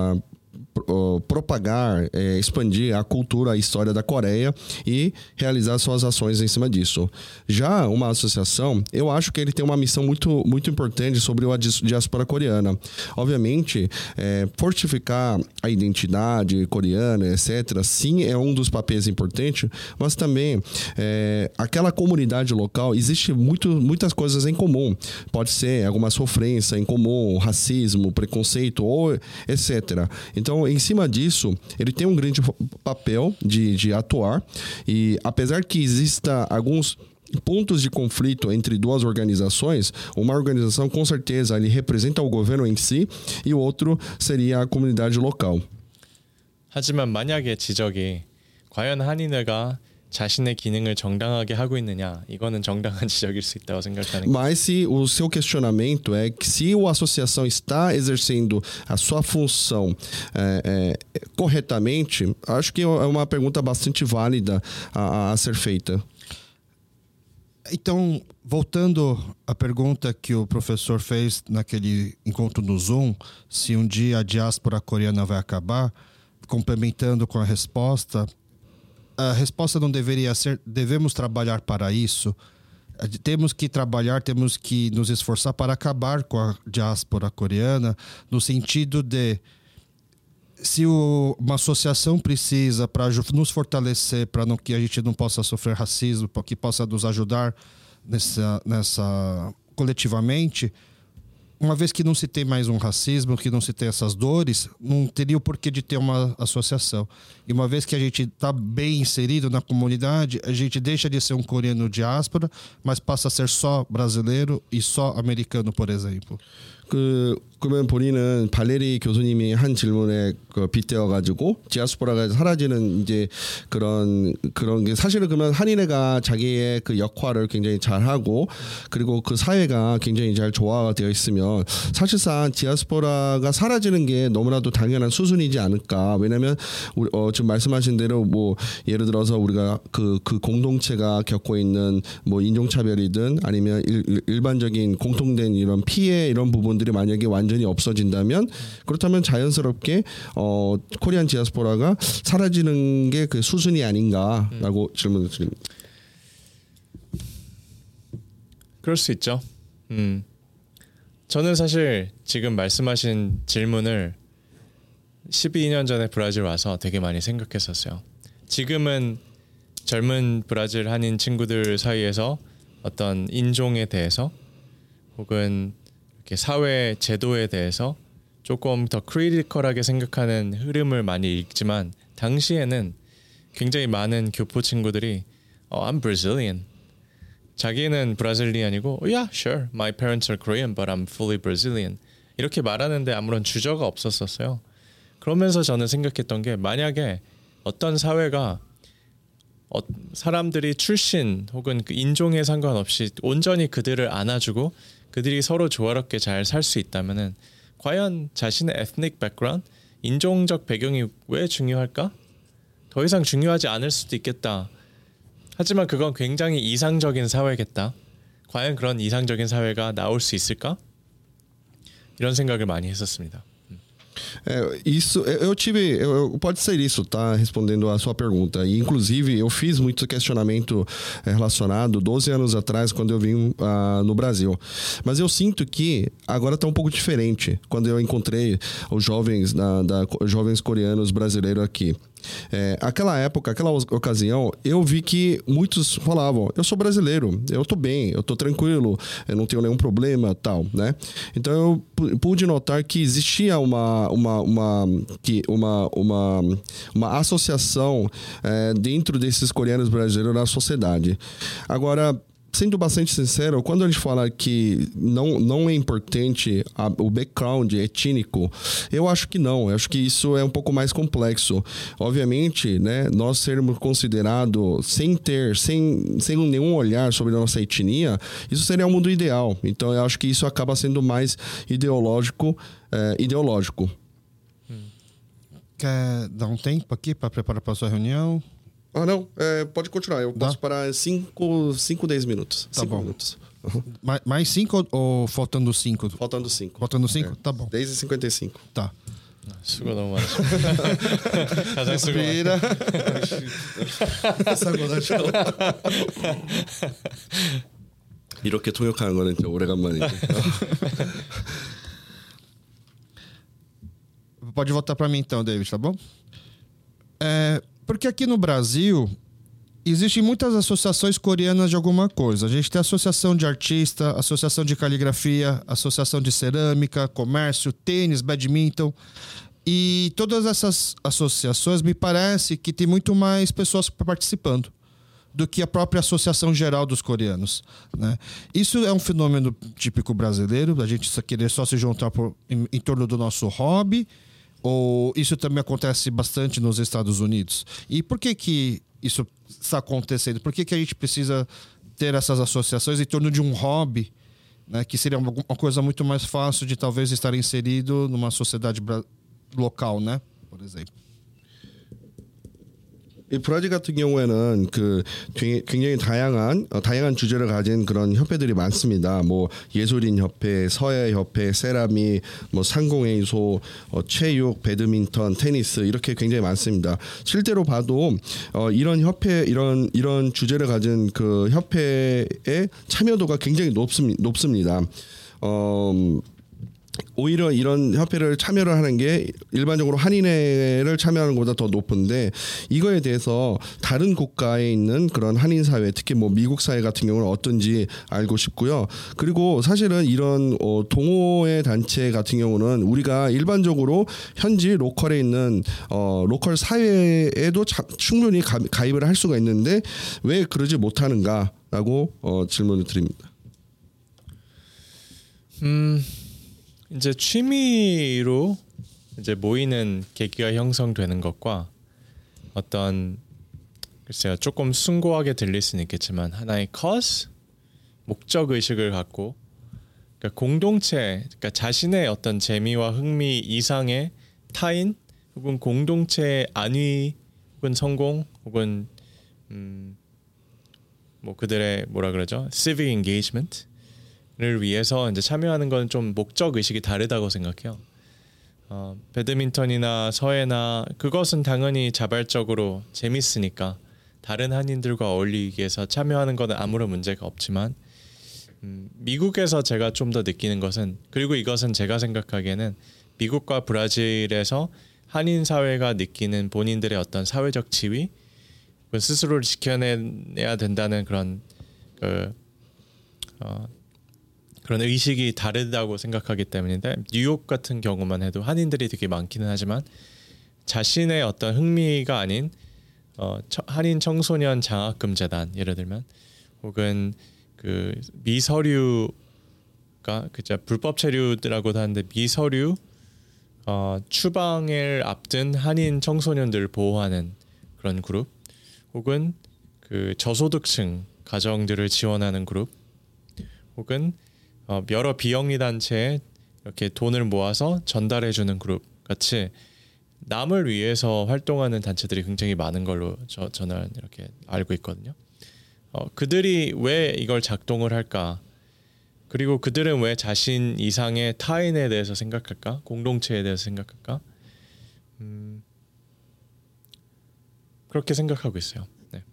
Speaker 2: propagar, expandir a cultura, a história da Coreia e realizar suas ações em cima disso. Já uma associação, eu acho que ele tem uma missão muito, muito importante sobre a diáspora coreana. Obviamente, fortificar a identidade coreana, etc., sim, é um dos papéis importantes, mas também aquela comunidade local, existe muitas coisas em comum. Pode ser alguma sofrência em comum, racismo, preconceito, ou etc. Então, em cima disso, ele tem um grande papel de atuar, e apesar que exista alguns pontos de conflito entre duas organizações, uma organização com certeza ele representa o governo em si e o outro seria a comunidade local.
Speaker 3: 하지만 만약에 지적이 과연 한인회가 자신의 기능을 정당하게 hago 있느냐 이거는 정당한 지적일 수 있다고 생각하는.
Speaker 2: Mas se o seu questionamento é que se a associação está exercendo a sua função corretamente, acho que é uma pergunta bastante válida a ser feita.
Speaker 1: Então, voltando à pergunta que o professor fez naquele encontro no Zoom, se um dia a diáspora coreana vai acabar, complementando com a resposta não deveria ser devemos trabalhar para isso. Temos que trabalhar, temos que nos esforçar para acabar com a diáspora coreana, no sentido de se uma associação precisa para nos fortalecer, para que a gente não possa sofrer racismo, para que possa nos ajudar nessa coletivamente, uma vez que não se tem mais um racismo, que não se tem essas dores, não teria o porquê de ter uma associação. E uma vez que a gente está bem inserido na comunidade, a gente deixa de ser um coreano diáspora, mas passa a ser só brasileiro e só americano, por exemplo.
Speaker 2: 그러면 본인은 발레리 교수님이 한 질문에 빗대어 가지고 디아스포라가 사라지는 이제 그런 게 사실은 그러면 한인회가 자기의 그 역할을 굉장히 잘하고 그리고 그 사회가 굉장히 잘 조화가 되어 있으면 사실상 디아스포라가 사라지는 게 너무나도 당연한 수순이지 않을까. 왜냐하면 지금 말씀하신 대로 뭐 예를 들어서 우리가 그 공동체가 겪고 있는 뭐 인종차별이든 아니면 일반적인 공통된 이런 피해 이런 부분들이 만약에 완전히 없어진다면 그렇다면 자연스럽게 코리안 디아스포라가 사라지는 게 그 수순이 아닌가라고 질문을 드립니다.
Speaker 3: 그럴 수 있죠. 저는 사실 지금 말씀하신 질문을 12년 전에 브라질 와서 되게 많이 생각했었어요. 지금은 젊은 브라질 한인 친구들 사이에서 어떤 인종에 대해서 혹은 이렇게 사회 제도에 대해서 조금 더 크리티컬하게 생각하는 흐름을 많이 읽지만 당시에는 굉장히 많은 교포 친구들이 I'm Brazilian. 자기는 브라질리안이고 yeah, sure, my parents are Korean, but I'm fully Brazilian. 이렇게 말하는데 아무런 주저가 없었어요. 그러면서 저는 생각했던 게 만약에 어떤 사회가 사람들이 출신 혹은 그 인종에 상관없이 온전히 그들을 안아주고 그들이 서로 조화롭게 잘 살 수 있다면은 과연 자신의 ethnic background, 인종적 배경이 왜 중요할까? 더 이상 중요하지 않을 수도 있겠다. 하지만 그건 굉장히 이상적인 사회겠다. 과연 그런 이상적인 사회가 나올 수 있을까? 이런 생각을 많이 했었습니다.
Speaker 2: Pode ser isso, tá? Respondendo a sua pergunta. E, inclusive, eu fiz muito questionamento relacionado 12 anos atrás, quando eu vim no Brasil. Mas eu sinto que agora está um pouco diferente. Quando eu encontrei os jovens, jovens coreanos brasileiros aqui. Aquela época, aquela ocasião, eu vi que muitos falavam, eu sou brasileiro, eu tô bem, eu tô tranquilo, eu não tenho nenhum problema, tal, né? Então eu pude notar que existia uma associação dentro desses coreanos brasileiros na sociedade. Agora, sendo bastante sincero, quando a gente fala que não é importante o background étnico, eu acho que não. Eu acho que isso é um pouco mais complexo. Obviamente, né, nós sermos considerados sem nenhum olhar sobre a nossa etnia, isso seria o mundo ideal. Então, eu acho que isso acaba sendo mais ideológico.
Speaker 1: Quer dar um tempo aqui para preparar para a sua reunião?
Speaker 2: Ah, não. Pode continuar. Eu posso parar 5, 10 minutos.
Speaker 1: Tá
Speaker 2: 5
Speaker 1: bom.
Speaker 2: minutos.
Speaker 1: Mais 5 ou faltando 5?
Speaker 2: Faltando 5.
Speaker 1: Faltando 5? Tá bom.
Speaker 2: 10:55.
Speaker 1: Tá.
Speaker 3: 수고 너무 많으시고. 가장 수고.
Speaker 1: Respira.
Speaker 2: 이렇게 통역하는 거는 진짜 오래간만이지.
Speaker 1: Pode voltar para mim então, David, tá bom? Porque aqui no Brasil existem muitas associações coreanas de alguma coisa. A gente tem associação de artista, associação de caligrafia, associação de cerâmica, comércio, tênis, badminton. E todas essas associações me parece que tem muito mais pessoas participando do que a própria associação geral dos coreanos, né? Isso é um fenômeno típico brasileiro, a gente querer só se juntar em torno do nosso hobby, ou isso também acontece bastante nos Estados Unidos? E por que isso está acontecendo? Por que a gente precisa ter essas associações em torno de um hobby, né, que seria uma coisa muito mais fácil de talvez estar inserido numa sociedade local, né? Por exemplo.
Speaker 2: 이 브라질 같은 경우에는 그 굉장히 다양한 주제를 가진 그런 협회들이 많습니다. 뭐 예술인 협회, 서예 협회, 세라믹, 뭐 상공회의소, 체육, 배드민턴, 테니스 이렇게 굉장히 많습니다. 실제로 봐도 이런 협회 이런 주제를 가진 그 협회의 참여도가 굉장히 높습니다. 오히려 이런 협회를 참여를 하는 게 일반적으로 한인회를 참여하는 것보다 더 높은데 이거에 대해서 다른 국가에 있는 그런 한인 사회, 특히 뭐 미국 사회 같은 경우는 어떤지 알고 싶고요. 그리고 사실은 이런 동호회 단체 같은 경우는 우리가 일반적으로 현지 로컬에 있는 로컬 사회에도 충분히 가입을 할 수가 있는데 왜 그러지 못하는가라고 질문을 드립니다.
Speaker 3: 이제 취미로 이제 모이는 계기가 형성되는 것과 어떤 글쎄요 조금 숭고하게 들릴 수는 있겠지만 하나의 cause 목적 의식을 갖고 그러니까 공동체 그러니까 자신의 어떤 재미와 흥미 이상의 타인 혹은 공동체의 안위 혹은 성공 혹은 뭐 그들의 뭐라 그러죠 civic engagement 를 위해서 이제 참여하는 건 좀 목적 의식이 다르다고 생각해요. 배드민턴이나 서예나 그것은 당연히 자발적으로 재밌으니까 다른 한인들과 어울리기 위해서 참여하는 것은 아무런 문제가 없지만 미국에서 제가 좀 더 느끼는 것은 그리고 이것은 제가 생각하기에는 미국과 브라질에서 한인 사회가 느끼는 본인들의 어떤 사회적 지위 스스로를 지켜내야 된다는 그런 그런 의식이 다르다고 생각하기 때문인데 뉴욕 같은 경우만 해도 한인들이 되게 많기는 하지만 자신의 어떤 흥미가 아닌 한인 청소년 장학금 재단 예를 들면 혹은 그 미서류가 그저 불법 체류라고도 하는데 미서류 추방을 앞둔 한인 청소년들을 보호하는 그런 그룹 혹은 그 저소득층 가정들을 지원하는 그룹 혹은 여러 비영리 단체에 이렇게 돈을 모아서 전달해주는 그룹 같이 남을 위해서 활동하는 단체들이 굉장히 많은 걸로 저는 이렇게 알고 있거든요. 그들이 왜 이걸 작동을 할까? 그리고 그들은 왜 자신 이상의 타인에 대해서 생각할까? 공동체에 대해서 생각할까? 그렇게 생각하고 있어요.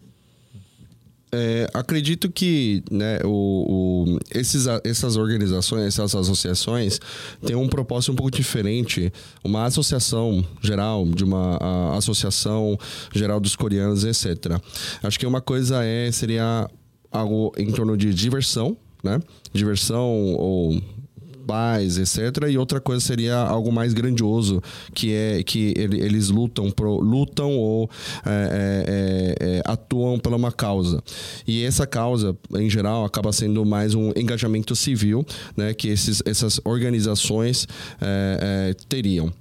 Speaker 2: Acredito que né, essas organizações, essas associações têm um propósito um pouco diferente. Uma associação geral, de uma associação geral dos coreanos, etc. Acho que uma coisa seria algo em torno de diversão, né? Diversão ou paz, etc. E outra coisa seria algo mais grandioso, que é que eles lutam ou atuam por uma causa. E essa causa, em geral, acaba sendo mais um engajamento civil, né, que essas organizações teriam.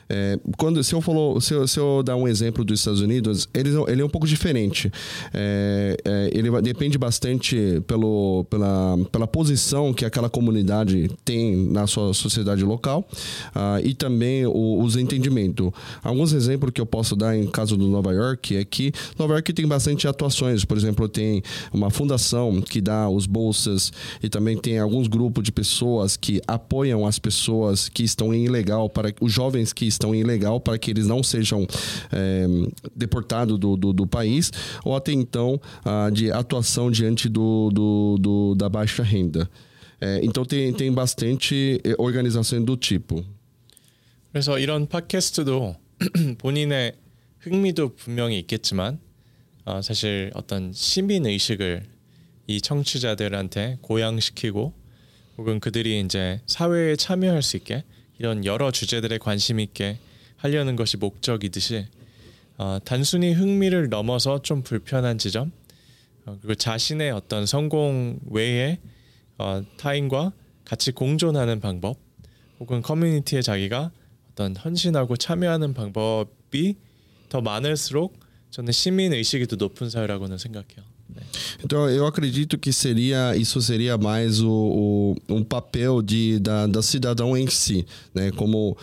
Speaker 2: Se eu dar um exemplo dos Estados Unidos, ele é um pouco diferente. Ele depende bastante pela posição que aquela comunidade tem na sua sociedade local e também os entendimentos. Alguns exemplos que eu posso dar em caso do Nova York é que Nova York tem bastante atuações. Por exemplo, tem uma fundação que dá os bolsas e também tem alguns grupos de pessoas que apoiam as pessoas que estão em ilegal, para os jovens que estão em ilegal, para que eles não sejam deportados do país, ou até então de atuação diante da baixa renda. Então tem bastante organizações do tipo.
Speaker 3: 그래서 이런 팟캐스트도 본인의 흥미도 분명히 있겠지만 사실 어떤 시민 의식을 이 청취자들한테 고양시키고 혹은 그들이 이제 사회에 참여할 수 있게 이런 여러 주제들에 관심 있게 하려는 것이 목적이듯이 단순히 흥미를 넘어서 좀 불편한 지점 그리고 자신의 어떤 성공 외에 타인과 같이 공존하는 방법 혹은 커뮤니티에 자기가 어떤 헌신하고 참여하는 방법이 더 많을수록 저는 시민 의식이 더 높은 사회라고는 생각해요. 네.
Speaker 2: Então eu acredito que isso seria mais um papel da cidadão em si, né? Como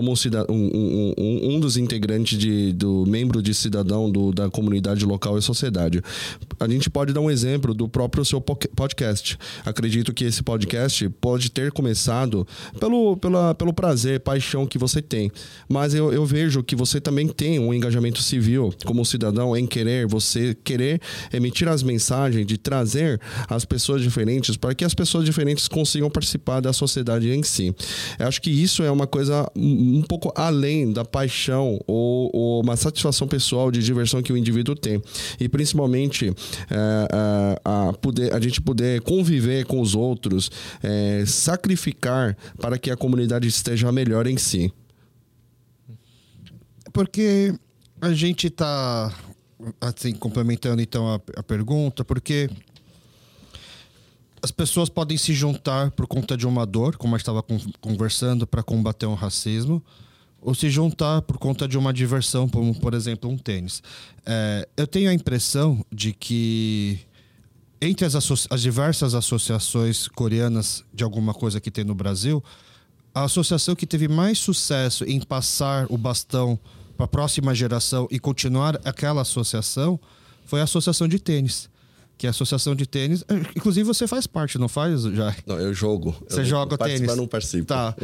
Speaker 2: um dos integrantes do membro de cidadão da comunidade local e sociedade. A gente pode dar um exemplo do próprio seu podcast. Acredito que esse podcast pode ter começado pelo prazer, paixão que você tem, mas eu vejo que você também tem um engajamento civil como cidadão em querer emitir as mensagens, de trazer as pessoas diferentes para que as pessoas diferentes consigam participar da sociedade em si. Eu acho que isso é uma coisa um pouco além da paixão ou uma satisfação pessoal de diversão que o indivíduo tem. E principalmente a gente poder conviver com os outros, sacrificar para que a comunidade esteja melhor em si.
Speaker 1: Porque a gente está... assim, complementando então a pergunta, porque as pessoas podem se juntar por conta de uma dor, como a gente estava conversando, para combater um racismo, ou se juntar por conta de uma diversão, como, por exemplo, um tênis. Eu tenho a impressão de que entre as diversas associações coreanas de alguma coisa que tem no Brasil, a associação que teve mais sucesso em passar o bastão para a próxima geração e continuar aquela associação foi a associação de tênis. Que é a associação de tênis... Inclusive você faz parte, não faz, já?
Speaker 2: Não, eu jogo.
Speaker 1: Você joga tênis?
Speaker 2: Participar, não participo.
Speaker 1: Tá.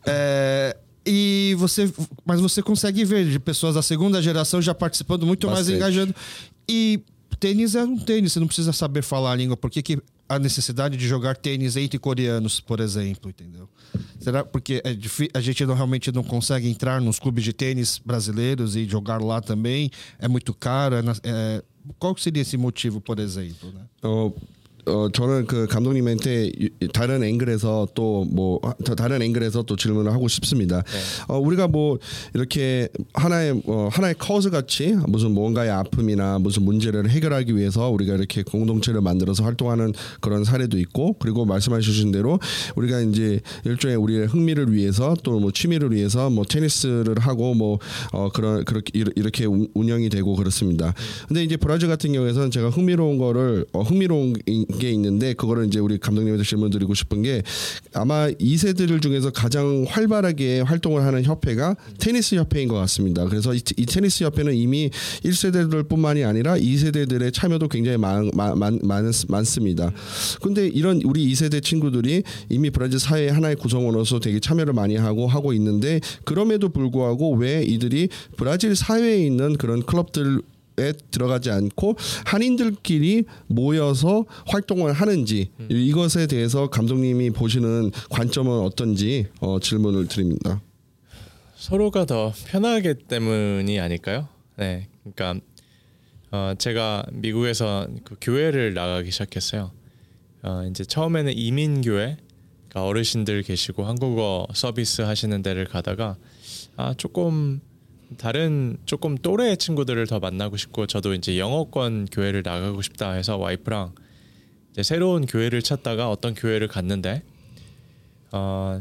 Speaker 1: Mas você consegue ver de pessoas da segunda geração já participando muito mais, engajando. E tênis é um tênis, você não precisa saber falar a língua. Por que a necessidade de jogar tênis entre coreanos, por exemplo, entendeu? Será porque a gente realmente não consegue entrar nos clubes de tênis brasileiros e jogar lá também? É muito caro? Qual seria esse motivo, por exemplo? Né?
Speaker 2: 저는 그 감독님한테 다른 앵글에서 또 질문을 하고 싶습니다. 우리가 뭐 이렇게 하나의 커즈 같이 무슨 뭔가의 아픔이나 무슨 문제를 해결하기 위해서 우리가 이렇게 공동체를 만들어서 활동하는 그런 사례도 있고, 그리고 말씀하신 대로 우리가 이제 일종의 우리의 흥미를 위해서 또 뭐 취미를 위해서 뭐 테니스를 하고 뭐 그렇게 이렇게 운영이 되고 그렇습니다. 근데 이제 브라질 같은 경우에는 제가 흥미로운 게 있는데, 그거를 이제 우리 감독님한테 질문 드리고 싶은 게, 아마 2세대들 중에서 가장 활발하게 활동을 하는 협회가 테니스 협회인 것 같습니다. 그래서 이 테니스 협회는 이미 1세대들뿐만이 아니라 2세대들의 참여도 굉장히 많습니다. 근데 이런 우리 2세대 친구들이 이미 브라질 사회의 하나의 구성원으로서 되게 참여를 많이 하고 있는데, 그럼에도 불구하고 왜 이들이 브라질 사회에 있는 그런 클럽들 에 들어가지 않고 한인들끼리 모여서 활동을 하는지, 이것에 대해서 감독님이 보시는 관점은 어떤지 질문을 드립니다.
Speaker 3: 서로가 더 편하기 때문이 아닐까요? 네, 그러니까 제가 미국에서 그 교회를 나가기 시작했어요. 이제 처음에는 이민교회, 그러니까 어르신들 계시고 한국어 서비스 하시는 데를 가다가 조금 또래 친구들을 더 만나고 싶고, 저도 이제 영어권 교회를 나가고 싶다 해서 와이프랑 이제 새로운 교회를 찾다가 어떤 교회를 갔는데 한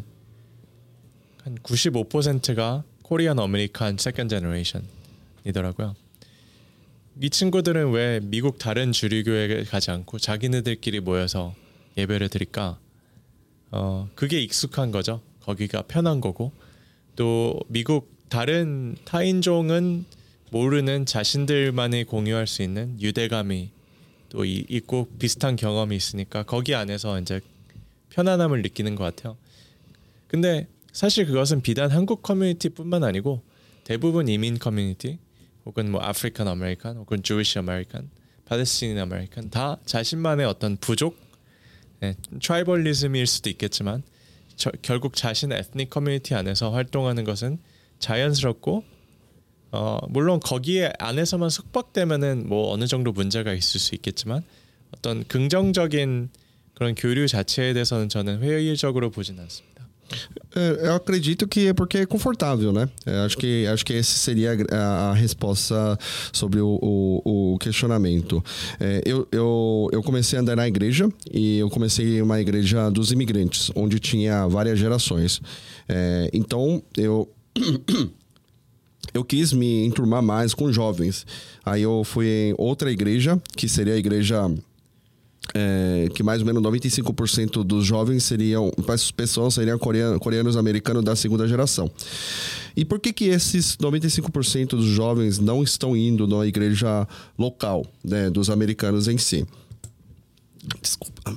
Speaker 3: 95%가 코리안 아메리칸 세컨드 제너레이션이더라고요. 이 친구들은 왜 미국 다른 주류교회에 가지 않고 자기네들끼리 모여서 예배를 드릴까? 그게 익숙한 거죠. 거기가 편한 거고, 또 미국 다른 타인종은 모르는 자신들만이 공유할 수 있는 유대감이 또 있고 비슷한 경험이 있으니까 거기 안에서 이제 편안함을 느끼는 것 같아요. 근데 사실 그것은 비단 한국 커뮤니티뿐만 아니고 대부분 이민 커뮤니티, 혹은 뭐 아프리칸 아메리칸, 혹은 주위시 아메리칸, 팔레스타인 아메리칸, 다 자신만의 어떤 부족, 트라이벌리즘일 수도 있겠지만 결국 자신의 에트닉 커뮤니티 안에서 활동하는 것은 자연스럽고, 물론 거기에 안에서만 속박되면은 뭐 어느 정도 문제가 있을 수 있겠지만 어떤 긍정적인 그런 교류 자체에 대해서는 저는 회의적으로 보진 않습니다.
Speaker 2: Eu acredito que é porque é confortável, né? Acho que essa seria a resposta sobre o questionamento. Eu comecei a andar na igreja, e eu comecei em uma igreja dos imigrantes, onde tinha várias gerações. Então eu eu quis me enturmar mais com jovens. Aí eu fui em outra igreja, que seria a igreja que mais ou menos 95% dos jovens pessoas seriam coreanos americanos da segunda geração. E por que esses 95% dos jovens não estão indo na igreja local, né, dos americanos em si? Desculpa.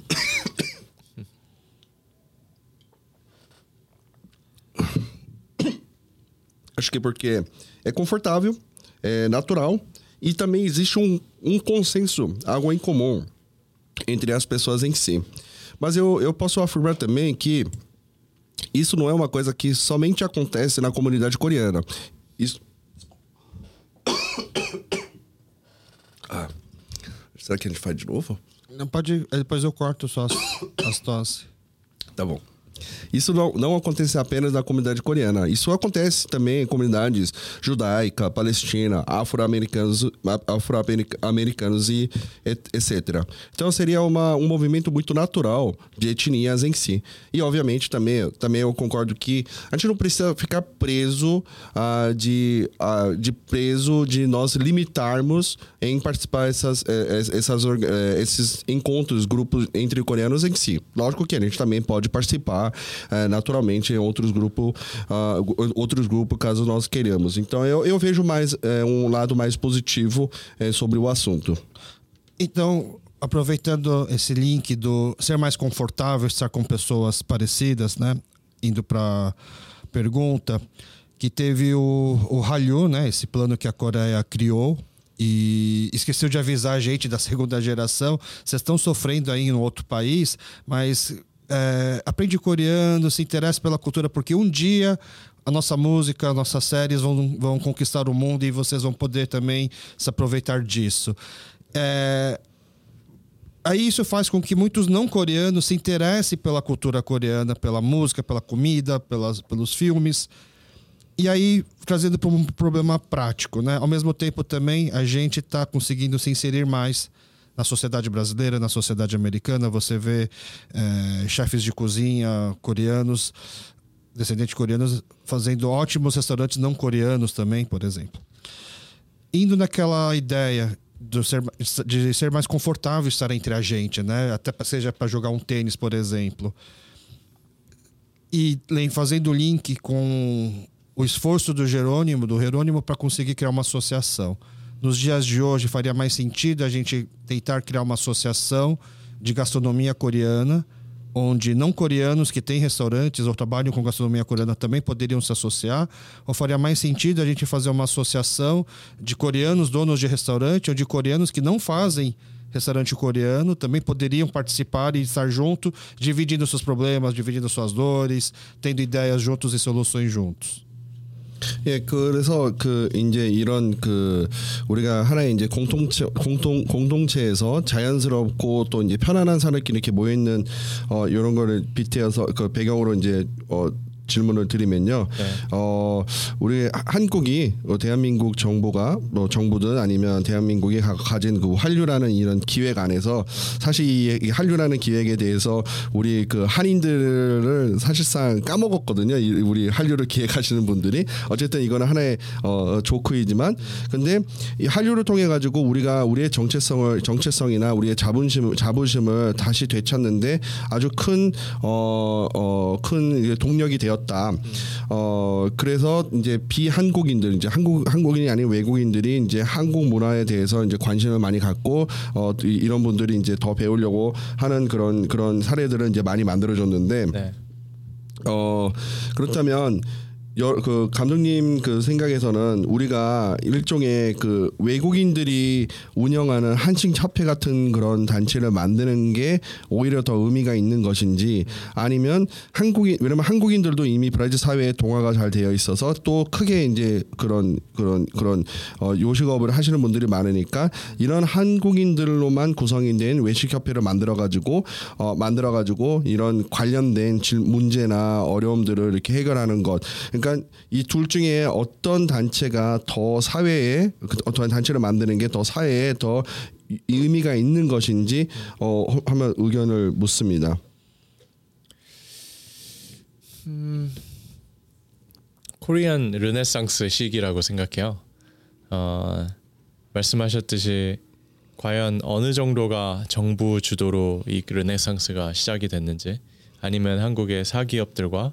Speaker 2: Acho que porque é confortável, é natural e também existe um consenso, algo em comum entre as pessoas em si. Mas eu posso afirmar também que isso não é uma coisa que somente acontece na comunidade coreana. Isso... Será que a gente faz de novo?
Speaker 1: Não pode, depois eu corto só as tosse.
Speaker 2: Tá bom. Isso não acontece apenas na comunidade coreana. Isso acontece também em comunidades judaica, palestina, afro-americanos e etc. Então seria um movimento muito natural de etnias em si. E obviamente também eu concordo que a gente não precisa ficar preso de nós limitarmos em participar esses encontros, grupos entre coreanos em si. Lógico que a gente também pode participar naturalmente em outros grupos caso nós queiramos. Então eu vejo mais um lado mais positivo sobre o assunto.
Speaker 1: Então, aproveitando esse link do ser mais confortável estar com pessoas parecidas, né? Indo para pergunta, que teve o Hallyu, né? Esse plano que a Coreia criou e esqueceu de avisar a gente da segunda geração. Vocês estão sofrendo aí em outro país, mas aprende coreano, se interessa pela cultura, porque um dia a nossa música, nossas séries vão conquistar o mundo e vocês vão poder também se aproveitar disso. Aí isso faz com que muitos não coreanos se interessem pela cultura coreana, pela música, pela comida, pelos filmes. E aí, trazendo para um problema prático, né? Ao mesmo tempo também a gente está conseguindo se inserir mais na sociedade brasileira, na sociedade americana. Você vê chefes de cozinha coreanos, descendentes coreanos, fazendo ótimos restaurantes não coreanos também, por exemplo. Indo naquela ideia de ser mais confortável estar entre a gente, né? Até seja para jogar um tênis, por exemplo. E fazendo o link com o esforço do Jerônimo para conseguir criar uma associação. Nos dias de hoje faria mais sentido a gente tentar criar uma associação de gastronomia coreana, onde não coreanos que têm restaurantes ou trabalham com gastronomia coreana também poderiam se associar? Ou faria mais sentido a gente fazer uma associação de coreanos donos de restaurante ou de coreanos que não fazem restaurante coreano também poderiam participar e estar junto, dividindo seus problemas, dividindo suas dores, tendo ideias juntos e soluções juntos?
Speaker 2: 그래서 이제 이런 우리가 하나의 이제 공동체에서 자연스럽고 또 이제 편안한 사람끼리 이렇게 모여 있는 이런 거를 빗대어서 배경으로 이제 질문을 드리면요. 우리 한국이 대한민국 정부가 정부든 아니면 대한민국이 가진 한류라는 이런 기획 안에서 사실 이 한류라는 기획에 대해서 우리 한인들을 사실상 까먹었거든요. 우리 한류를 기획하시는 분들이. 어쨌든 이거는 하나의 조크이지만 근데 이 한류를 통해 가지고 우리가 우리의 정체성이나 우리의 자부심을 다시 되찾는데 아주 큰 동력이 되었다. 그래서 이제 비한국인들 이제 한국인이 아닌 외국인들이 이제 한국 문화에 대해서 이제 관심을 많이 갖고 이런 분들이 이제 더 배우려고 하는 그런 사례들을 이제 많이 만들어줬는데 네. 그렇다면 감독님 생각에서는 우리가 일종의 외국인들이 운영하는 한식 협회 같은 그런 단체를 만드는 게 오히려 더 의미가 있는 것인지 아니면 왜냐면 한국인들도 이미 브라질 사회에 동화가 잘 되어 있어서 또 크게 이제 그런 요식업을 하시는 분들이 많으니까 이런 한국인들로만 구성이 된 외식 협회를 만들어가지고 이런 관련된 문제나 어려움들을 이렇게 해결하는 것. 그러니까 이 둘 중에 어떤 단체가 더 사회에 어떤 단체를 만드는 게 더 사회에 더 의미가 있는 것인지 한번 의견을 묻습니다.
Speaker 3: 코리안 르네상스 시기라고 생각해요. 말씀하셨듯이 과연 어느 정도가 정부 주도로 이 르네상스가 시작이 됐는지, 아니면 한국의 사기업들과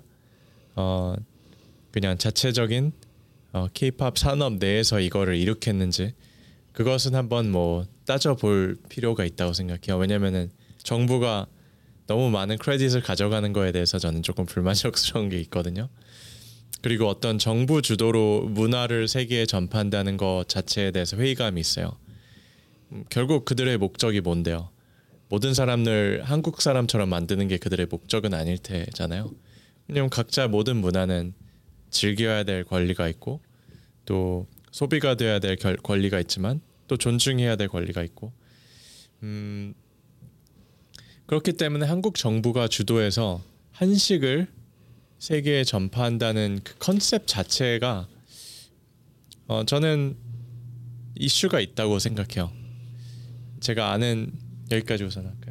Speaker 3: 그냥 자체적인 K-팝 산업 내에서 이거를 일으켰는지, 그것은 한번 뭐 따져볼 필요가 있다고 생각해요. 왜냐면은 정부가 너무 많은 크레딧을 가져가는 거에 대해서 저는 조금 불만족스러운 게 있거든요. 그리고 어떤 정부 주도로 문화를 세계에 전파한다는 것 자체에 대해서 회의감이 있어요. 결국 그들의 목적이 뭔데요? 모든 사람들 한국 사람처럼 만드는 게 그들의 목적은 아닐 테잖아요. 왜냐면 각자 모든 문화는 즐겨야 될 권리가 있고, 또 소비가 돼야 될 권리가 있지만, 또 존중해야 될 권리가 있고, 그렇기 때문에 한국 정부가 주도해서 한식을 세계에 전파한다는 그 컨셉 자체가 저는 이슈가 있다고 생각해요. 제가 아는 여기까지 우선 할까요?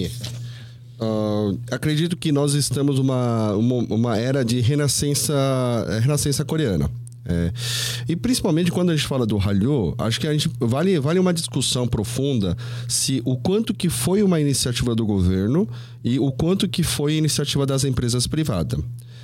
Speaker 2: Acredito que nós estamos uma era de renascença coreana. E principalmente quando a gente fala do Hallyu, acho que a gente vale uma discussão profunda se o quanto que foi uma iniciativa do governo e o quanto que foi iniciativa das empresas privadas.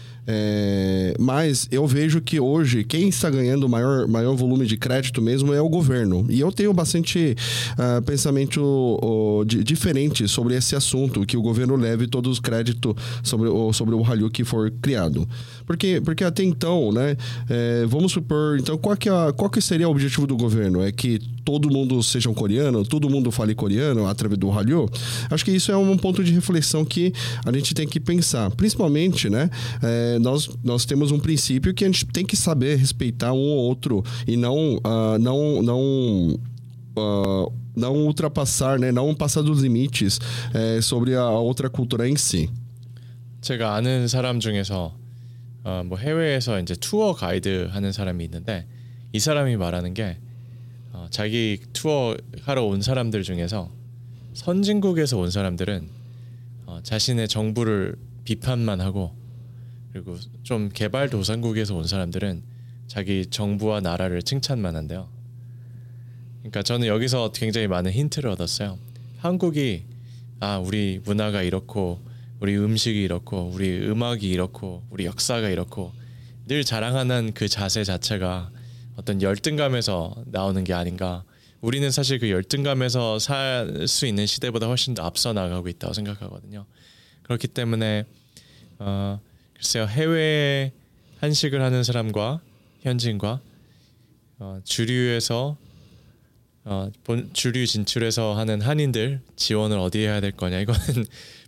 Speaker 2: Mas eu vejo que hoje quem está ganhando maior volume de crédito mesmo é o governo. E eu tenho bastante pensamento diferente sobre esse assunto, que o governo leve todos os créditos sobre o Hallyu que for criado. Porque até então, né, vamos supor, então qual que seria o objetivo do governo? É que todo mundo seja um coreano, todo mundo fale coreano através do Hallyu? Acho que isso é um ponto de reflexão que a gente tem que pensar. Principalmente, né, nós temos um princípio que a gente tem que saber respeitar um ou outro e não ultrapassar, né, não passar dos limites sobre a outra cultura em si.
Speaker 3: 제가 아는 사람 중에서 뭐 해외에서 이제 투어 가이드 하는 사람이 있는데, 이 사람이 말하는 게 자기 투어 하러 온 사람들 중에서 선진국에서 온 사람들은 자신의 정부를 비판만 하고, 그리고 좀 개발도상국에서 온 사람들은 자기 정부와 나라를 칭찬만 한대요. 그러니까 저는 여기서 굉장히 많은 힌트를 얻었어요. 한국이 우리 문화가 이렇고, 우리 음식이 이렇고, 우리 음악이 이렇고, 우리 역사가 이렇고, 늘 자랑하는 그 자세 자체가 어떤 열등감에서 나오는 게 아닌가. 우리는 사실 그 열등감에서 살 수 있는 시대보다 훨씬 더 앞서 나가고 있다고 생각하거든요. 그렇기 때문에 글쎄요, 해외에 한식을 하는 사람과 현지인과 주류에서 주류 진출해서 하는 한인들 지원을 어디에 해야 될 거냐, 이거는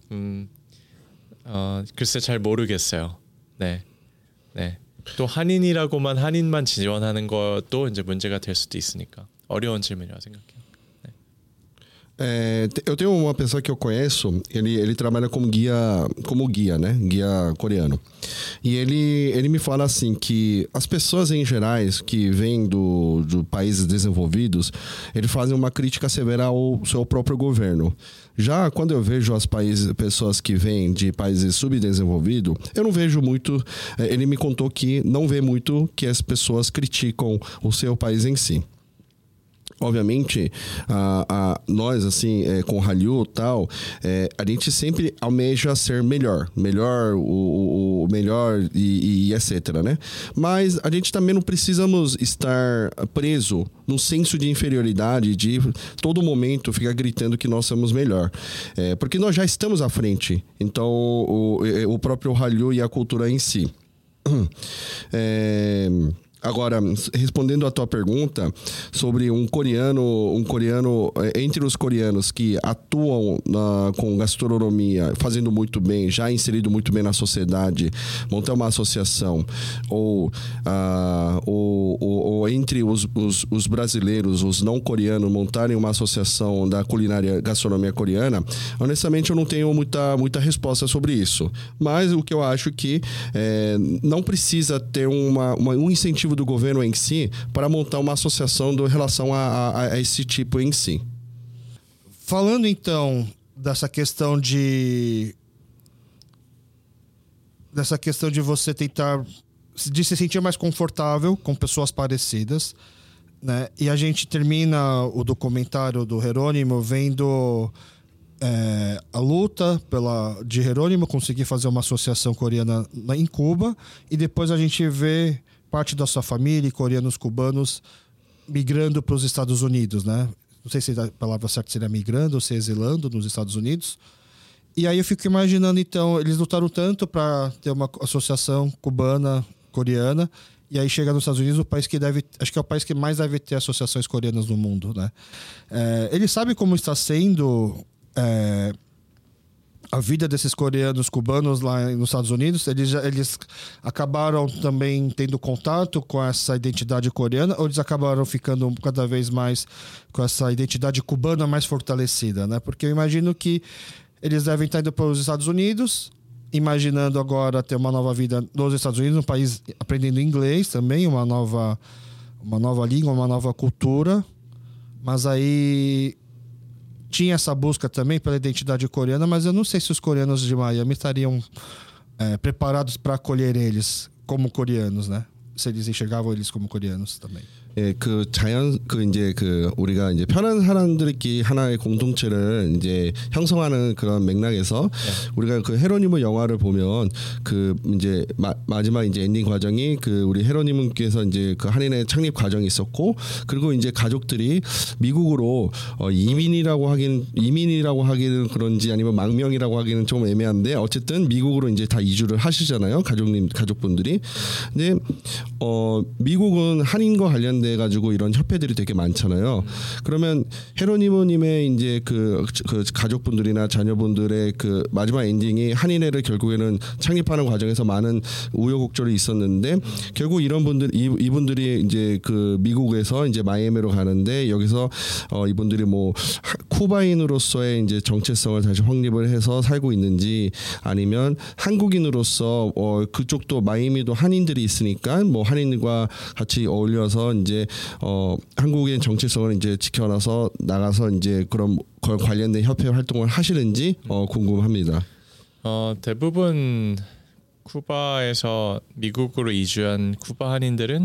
Speaker 3: 글쎄 잘 모르겠어요. 네. 또 한인만 지원하는 것도 이제 문제가 될 수도 있으니까 어려운 질문이라고 생각해요.
Speaker 2: Eu tenho uma pessoa que eu conheço, ele trabalha como guia, né? Guia coreano. E ele me fala assim que as pessoas em gerais que vêm do países desenvolvidos, eles fazem uma crítica severa ao seu próprio governo. Já quando eu vejo pessoas que vêm de países subdesenvolvidos, eu não vejo muito. Ele me contou que não vê muito que as pessoas criticam o seu país em si. Obviamente, nós, assim, com o Hallyu e tal, a gente sempre almeja ser melhor, o melhor e etc, né? Mas a gente também não precisamos estar preso num senso de inferioridade, de todo momento ficar gritando que nós somos melhor. Porque nós já estamos à frente. Então, o próprio Hallyu e a cultura em si. Agora, respondendo à tua pergunta sobre um coreano entre os coreanos que atuam com gastronomia, fazendo muito bem, já inserido muito bem na sociedade, montar uma associação, ou entre os brasileiros, os não coreanos, montarem uma associação da culinária gastronomia coreana, honestamente eu não tenho muita resposta sobre isso. Mas o que eu acho que não precisa ter um incentivo do governo em si para montar uma associação em relação a esse tipo em si.
Speaker 1: Falando então dessa questão de você tentar de se sentir mais confortável com pessoas parecidas, né? E a gente termina o documentário do Jerônimo vendo a luta de Jerônimo conseguir fazer uma associação coreana em Cuba, e depois a gente vê parte da sua família, coreanos cubanos, migrando para os Estados Unidos, né? Não sei se a palavra certa seria migrando ou se exilando nos Estados Unidos. E aí eu fico imaginando, então, eles lutaram tanto para ter uma associação cubana-coreana, e aí chega nos Estados Unidos, o país que acho que é o país que mais deve ter associações coreanas no mundo, né? Ele sabe como está sendo a vida desses coreanos cubanos lá nos Estados Unidos. Eles acabaram também tendo contato com essa identidade coreana, ou eles acabaram ficando cada vez mais com essa identidade cubana mais fortalecida, né? Porque eu imagino que eles devem estar indo para os Estados Unidos, imaginando agora ter uma nova vida nos Estados Unidos, um país aprendendo inglês também, uma nova língua, uma nova cultura. Mas aí tinha essa busca também pela identidade coreana, mas eu não sei se os coreanos de Miami estariam preparados para acolher eles como coreanos, né? Se eles enxergavam eles como coreanos também.
Speaker 2: 예, 우리가 이제 편한 사람들끼리 하나의 공동체를 이제 형성하는 그런 맥락에서 우리가 그 헤로니무 영화를 보면 그 이제 마지막 이제 엔딩 과정이 그 우리 헤로니무께서 이제 그 한인의 창립 과정이 있었고, 그리고 이제 가족들이 미국으로 이민이라고 하기는 그런지 아니면 망명이라고 하기는 좀 애매한데, 어쨌든 미국으로 이제 다 이주를 하시잖아요, 가족분들이. 근데 미국은 한인과 관련돼 가지고 이런 협회들이 되게 많잖아요. 그러면 헤로니모님의 이제 그 가족분들이나 자녀분들의 그 마지막 엔딩이 한인회를 결국에는 창립하는 과정에서 많은 우여곡절이 있었는데, 결국 이분들이 이제 그 미국에서 이제 마이애미로 가는데, 여기서 이분들이 뭐 쿠바인으로서의 이제 정체성을 다시 확립을 해서 살고 있는지, 아니면 한국인으로서 그쪽도 마이애미도 한인들이 있으니까 뭐 한인과 같이 어울려서 이제 한국의 정체성을 이제 지켜놔서 나가서 이제 그런 관련된 협회 활동을 하시는지 궁금합니다.
Speaker 3: 대부분 쿠바에서 미국으로 이주한 쿠바 한인들은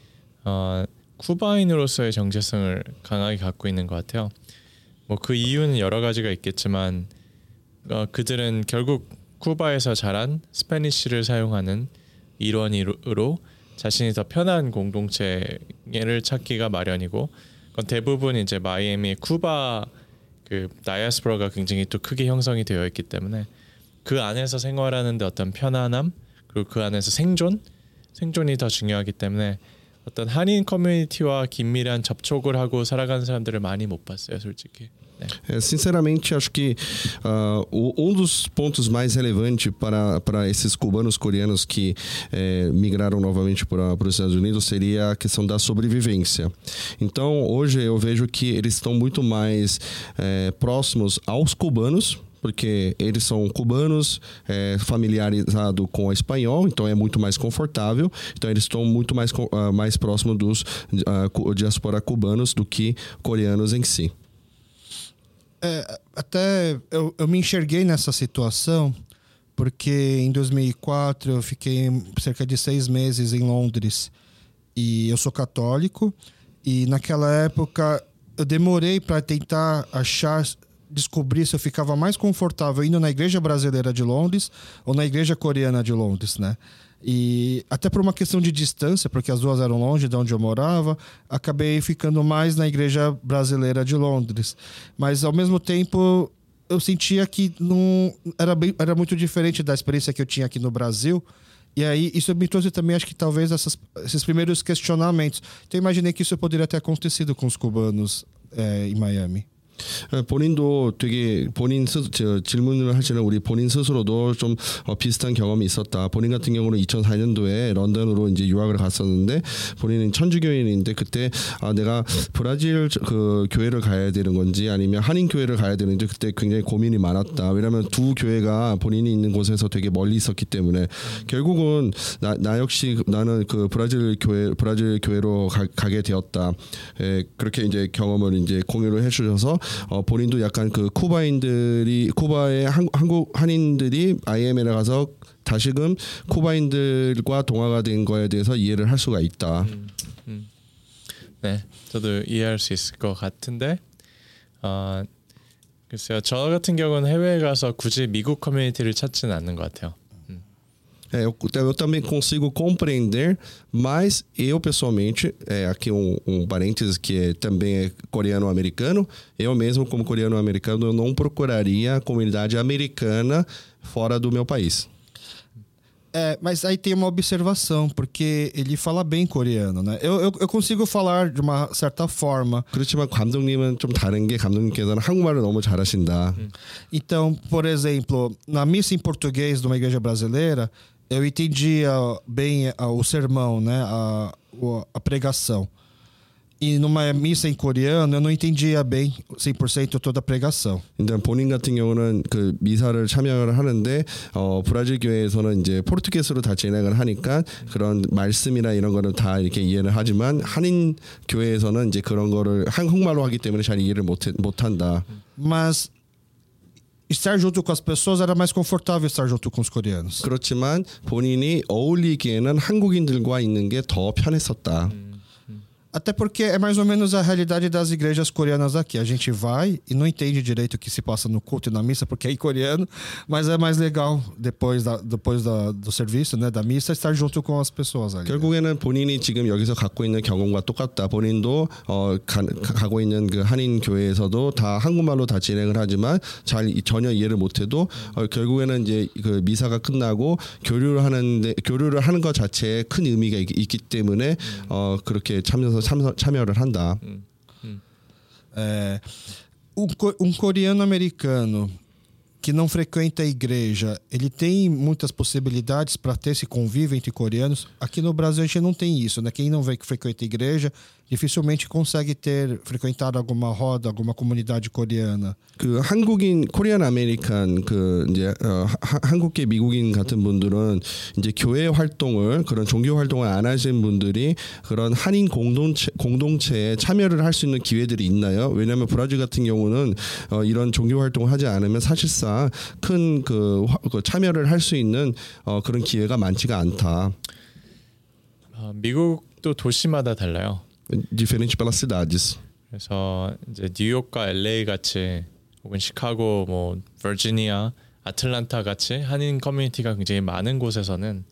Speaker 3: 쿠바인으로서의 정체성을 강하게 갖고 있는 것 같아요. 뭐 그 이유는 여러 가지가 있겠지만 그들은 결국 쿠바에서 자란 스페니쉬를 사용하는 일원으로 자신이 더 편한 공동체를 찾기가 마련이고, 그건 대부분 이제 마이애미 쿠바 그 다이아스포라가 굉장히 또 크게 형성이 되어 있기 때문에 그 안에서 생활하는데 어떤 편안함, 그리고 그 안에서 생존이 더 중요하기 때문에 어떤 한인 커뮤니티와 긴밀한 접촉을 하고 살아가는 사람들을 많이 못 봤어요, 솔직히.
Speaker 2: Sinceramente, acho que dos pontos mais relevantes para esses cubanos coreanos que migraram novamente para os Estados Unidos seria a questão da sobrevivência. Então, hoje eu vejo que eles estão muito mais próximos aos cubanos, porque eles são cubanos, familiarizados com o espanhol, então é muito mais confortável. Então eles estão muito mais próximos dos diáspora cubanos do que coreanos em si.
Speaker 1: Até eu me enxerguei nessa situação porque em 2004 eu fiquei cerca de 6 meses em Londres e eu sou católico, e naquela época eu demorei para tentar descobrir se eu ficava mais confortável indo na igreja brasileira de Londres ou na igreja coreana de Londres, né? E até por uma questão de distância, porque as duas eram longe de onde eu morava, acabei ficando mais na igreja brasileira de Londres. Mas ao mesmo tempo eu sentia que não era muito diferente da experiência que eu tinha aqui no Brasil. E aí isso me trouxe também, acho que talvez esses primeiros questionamentos. Então eu imaginei que isso poderia ter acontecido com os cubanos em Miami.
Speaker 2: 본인도 되게 질문을 하시는 우리 본인 스스로도 좀 비슷한 경험이 있었다. 본인 같은 경우는 2004년도에 런던으로 이제 유학을 갔었는데, 본인은 천주교인인데 그때 내가 브라질 그 교회를 가야 되는 건지 아니면 한인 교회를 가야 되는지 그때 굉장히 고민이 많았다. 왜냐하면 두 교회가 본인이 있는 곳에서 되게 멀리 있었기 때문에 결국은 나 역시 나는 그 브라질 교회로 가게 되었다. 그렇게 이제 경험을 이제 공유를 해주셔서 본인도 약간 그 쿠바의 한국 한인들이 IMF에 가서 다시금 쿠바인들과 동화가 된 거에 대해서 이해를 할 수가 있다.
Speaker 3: 네, 저도 이해할 수 있을 것 같은데, 글쎄요, 저 같은 경우는 해외에 가서 굳이 미국 커뮤니티를 찾지는 않는 것 같아요.
Speaker 2: Eu também consigo compreender, mas eu pessoalmente, aqui parênteses que também é coreano-americano, eu mesmo como coreano-americano eu não procuraria a comunidade americana fora do meu país.
Speaker 1: Mas aí tem uma observação, porque ele fala bem coreano, né? Eu consigo falar de uma certa forma.
Speaker 2: 그렇지만 감독님은 좀 다른 게 감독님께서는 한국말을 너무 잘하신다.
Speaker 1: Então, por exemplo, na missa em português de uma igreja brasileira, eu entendia bem o sermão, né? A pregação. E numa missa em coreano eu não entendia bem 100% toda a pregação.
Speaker 2: 일단 본인 같은 경우는 그 미사를 참여를 하는데 브라질 교회에서는 이제 포르투게스로 다 진행을 하니까 그런 말씀이나 이런 거는 다 이렇게 이해를 하지만 한인 교회에서는 이제 그런 거를 한국말로 하기 때문에 잘 이해를 못 한다.
Speaker 1: Mas estar junto com as pessoas era mais confortável estar junto com os coreanos.
Speaker 2: 그렇지만 본인이 어울리기에는 한국인들과 있는 게 더 편했었다.
Speaker 1: Até porque é mais ou menos a realidade das igrejas coreanas aqui. A gente vai e não entende direito o que se passa no culto e na missa, porque é em coreano, mas é mais legal depois do serviço, né, da missa, estar junto com as pessoas ali.
Speaker 2: 결국에는 본인이 지금 여기서 갖고 있는 경험과 똑같다. 본인도 가고 있는 그 한인 교회에서도 다 한국말로 다 진행을 하지만 전혀 이해를 못해도 결국에는 이제 그 미사가 끝나고 교류를 하는 것 자체에 큰 의미가 있기 때문에 그렇게 참여를 한다.
Speaker 1: Coreano americano que não frequenta a igreja, ele tem muitas possibilidades para ter esse convívio entre coreanos. Aqui no Brasil a gente não tem isso, né? Quem não frequenta a igreja dificilmente consegue frequentar alguma roda, alguma comunidade coreana.
Speaker 2: 그 한국인 코리안 아메리칸 그 이제 한국계 미국인 같은 분들은 이제 교회 활동을 그런 종교 활동을 안 하시는 분들이 그런 한인 공동체에 참여를 할 수 있는 기회들이 있나요? 왜냐하면 브라질 같은 경우는 이런 종교 활동을 하지 않으면 사실상 큰 그 참여를 할 수 있는 그런 기회가 많지가 않다.
Speaker 3: 미국도 도시마다 달라요.
Speaker 2: Diferente pelas cidades.
Speaker 3: 그래서 이제 뉴욕과 LA 같이 혹은 시카고, 뭐 버지니아, 아틀란타 같이 한인 커뮤니티가 굉장히 많은 곳에서는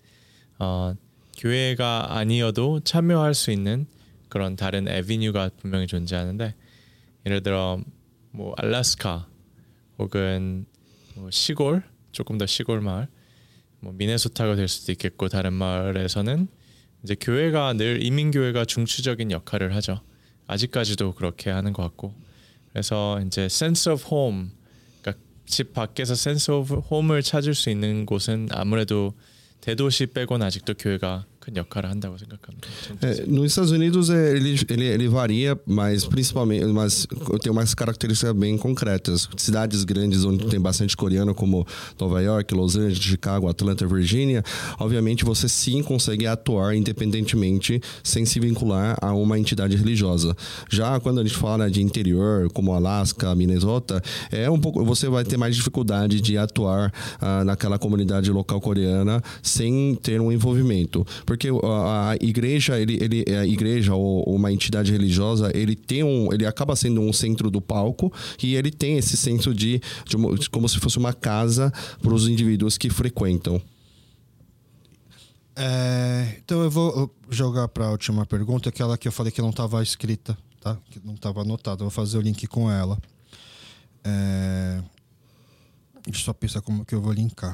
Speaker 3: 교회가 아니어도 참여할 수 있는 그런 다른 애비뉴가 분명히 존재하는데, 예를 들어 뭐 알래스카 혹은 뭐 시골, 조금 더 시골 마을, 뭐 미네소타가 될 수도 있겠고 다른 마을에서는 이제 교회가 늘 이민교회가 중추적인 역할을 하죠. 아직까지도 그렇게 하는 것 같고, 그래서 이제 sense of home, 그러니까 집 밖에서 sense of home을 찾을 수 있는 곳은 아무래도 대도시 빼고는 아직도 교회가 큰 역할을 한다고 생각합니다.
Speaker 2: Nos Estados Unidos ele varia, mas principalmente, mas tem umas características bem concretas. Cidades grandes onde tem bastante coreano, como Nova York, Los Angeles, Chicago, Atlanta, Virgínia, obviamente você sim consegue atuar independentemente sem se vincular a uma entidade religiosa. Já quando a gente fala de interior, como Alaska, Minnesota, você vai ter mais dificuldade de atuar naquela comunidade local coreana sem ter um envolvimento. Porque a igreja, a igreja ou uma entidade religiosa, ele acaba sendo um centro do palco e ele tem esse senso de como se fosse uma casa para os indivíduos que frequentam.
Speaker 1: Então eu vou jogar para a última pergunta, aquela que eu falei que não estava escrita, tá? Que não estava anotada. Eu vou fazer o link com ela. Deixa eu só pensar como que eu vou linkar.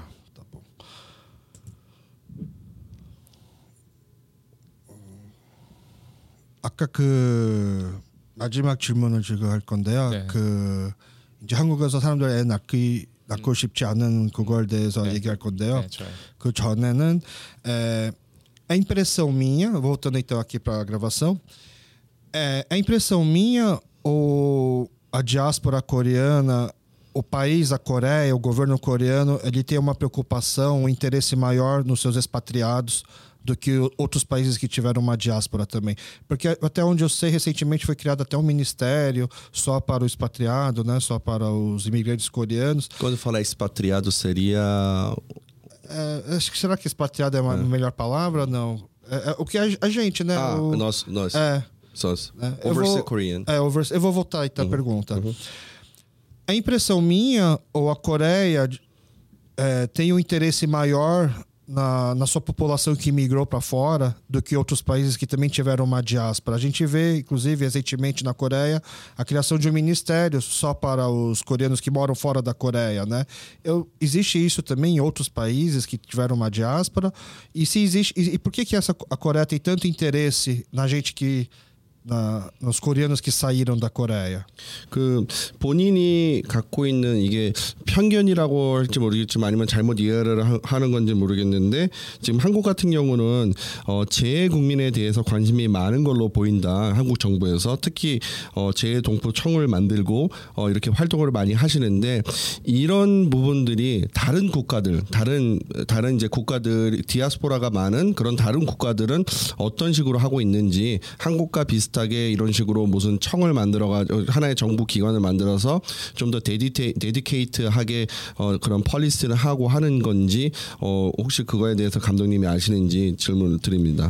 Speaker 1: 아까 그 마지막 질문을 제가 할 건데요.
Speaker 3: 네.
Speaker 1: 그 이제 한국에서 사람들 애 낳고 싶지 않은 그거에 대해서 얘기할 건데요.
Speaker 3: 네, 좋아요.
Speaker 1: 그 전에는 a impressão minha, voltando então aqui para a gravação, a impressão minha ou a diáspora coreana, o país, a Coreia, o governo coreano, ele tem uma preocupação, um interesse maior nos seus expatriados do que outros países que tiveram uma diáspora também. Porque até onde eu sei, recentemente foi criado até um ministério só para o expatriado, né? Só para os imigrantes coreanos.
Speaker 2: Quando falar expatriado seria...
Speaker 1: Acho que será que expatriado é a melhor palavra? Não. O que a gente, né?
Speaker 2: Nós. Overseas Korean.
Speaker 1: Eu vou voltar aí à pergunta. A impressão minha, ou a Coreia tem um interesse maior na sua população que migrou para fora do que outros países que também tiveram uma diáspora. A gente vê, inclusive, recentemente na Coreia, a criação de um ministério só para os coreanos que moram fora da Coreia, né? Existe isso também em outros países que tiveram uma diáspora? E se existe, e por que a Coreia tem tanto interesse na gente nos coreanos que 사이런 다 코레아.
Speaker 2: 그 본인이 갖고 있는 이게 편견이라고 할지 모르겠지만 아니면 잘못 이해를 하는 건지 모르겠는데 지금 한국 같은 경우는 재외국민에 대해서 관심이 많은 걸로 보인다. 한국 정부에서 특히 재외동포청을 만들고 이렇게 활동을 많이 하시는데 이런 부분들이 다른 국가들, 다른 이제 국가들 디아스포라가 많은 그런 다른 국가들은 어떤 식으로 하고 있는지 한국과 비슷하게 이런 식으로 무슨 청을 만들어가지고 하나의 정부 기관을 만들어서 좀 더 데디케이트하게 그런 펄리스를 하고 하는 건지 혹시 그거에 대해서 감독님이 아시는지 질문을 드립니다.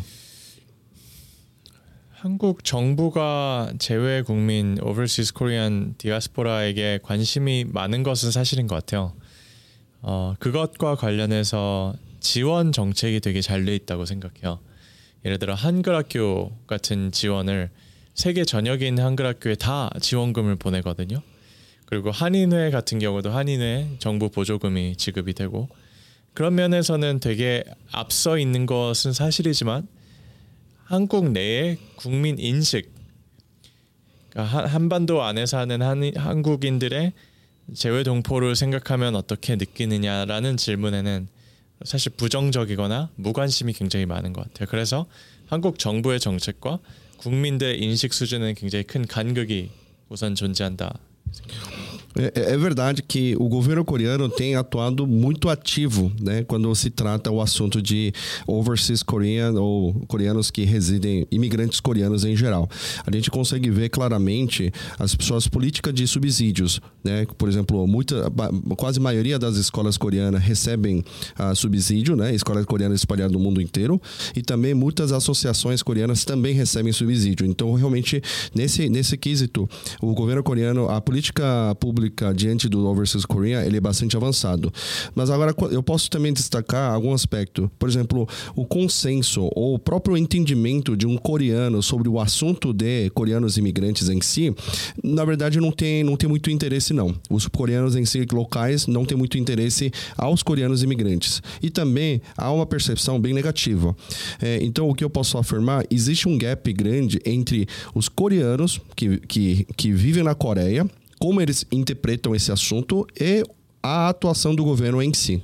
Speaker 3: 한국 정부가 재외 국민 오버시스 코리안 디아스포라에게 관심이 많은 것은 사실인 것 같아요. 그것과 관련해서 지원 정책이 되게 잘 돼 있다고 생각해요. 예를 들어 한글학교 같은 지원을 세계 전역에 있는 한글학교에 다 지원금을 보내거든요. 그리고 한인회 같은 경우도 한인회 정부 보조금이 지급이 되고 그런 면에서는 되게 앞서 있는 것은 사실이지만 한국 내의 국민 인식, 그러니까 한반도 안에 사는 한국인들의 재외 동포를 생각하면 어떻게 느끼느냐라는 질문에는 사실 부정적이거나 무관심이 굉장히 많은 것 같아요. 그래서 한국 정부의 정책과 국민들의 인식 수준은 굉장히 큰 간극이 우선 존재한다.
Speaker 2: É verdade que o governo coreano tem atuado muito ativo, né, quando se trata o assunto de overseas Korean ou coreanos que residem, imigrantes coreanos em geral. A gente consegue ver claramente suas políticas de subsídios, né? Por exemplo, quase a maioria das escolas coreanas recebem subsídio, né? Escolas coreanas espalhadas no mundo inteiro e também muitas associações coreanas também recebem subsídio. Então, realmente nesse quesito, o governo coreano, a política pública diante do Overseas Korea, ele é bastante avançado. Mas agora eu posso também destacar algum aspecto. Por exemplo, o consenso ou o próprio entendimento de um coreano sobre o assunto de coreanos imigrantes em si, na verdade não tem muito interesse não. Os coreanos em si locais não têm muito interesse aos coreanos imigrantes. E também há uma percepção bem negativa. Então o que eu posso afirmar, existe um gap grande entre os coreanos que vivem na Coreia, como eles interpretam esse assunto e a atuação do governo em si.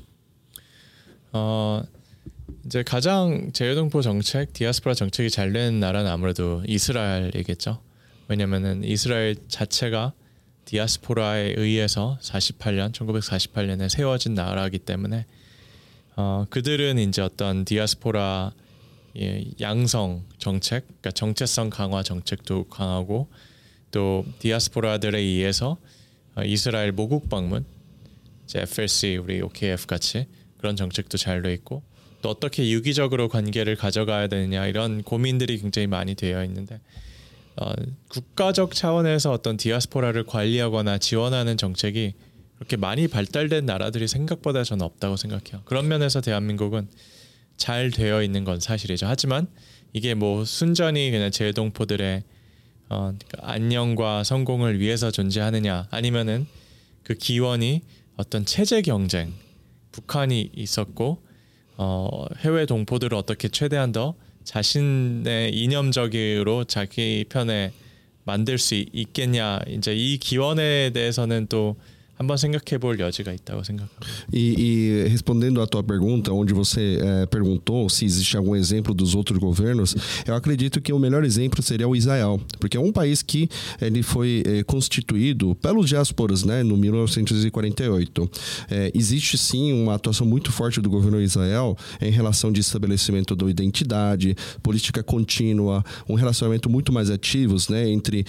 Speaker 3: 이제 가장 재외동포 정책, 디아스포라 정책이 잘 된 나라는 아무래도 이스라엘이겠죠. 왜냐면은 이스라엘 자체가 디아스포라에 의해서 1948년에 세워진 나라이기 때문에 그들은 이제 어떤 디아스포라 양성 정책, 그러니까 정체성 강화 정책도 강하고 또 디아스포라들에 의해서 이스라엘 모국 방문, 이제 FLC, 우리 OKF 같이 그런 정책도 잘 돼 있고 또 어떻게 유기적으로 관계를 가져가야 되느냐 이런 고민들이 굉장히 많이 되어 있는데 국가적 차원에서 어떤 디아스포라를 관리하거나 지원하는 정책이 그렇게 많이 발달된 나라들이 생각보다 저는 없다고 생각해요. 그런 면에서 대한민국은 잘 되어 있는 건 사실이죠. 하지만 이게 뭐 순전히 그냥 재외동포들의 안녕과 성공을 위해서 존재하느냐 아니면은 그 기원이 어떤 체제 경쟁, 북한이 있었고 해외 동포들을 어떻게 최대한 더 자신의 이념적으로 자기 편에 만들 수 있겠냐, 이제 이 기원에 대해서는 또 한번 생각해볼 여지가 있다고 생각합니다.
Speaker 2: E respondendo à tua pergunta, onde você perguntou se existe algum exemplo dos outros governos, eu acredito que o melhor exemplo seria o Israel, porque é um país que ele foi constituído pelos diásporas, né, no 1948. Existe sim uma atuação muito forte do governo de Israel em relação de estabelecimento da identidade, política contínua, um relacionamento muito mais ativos, né, entre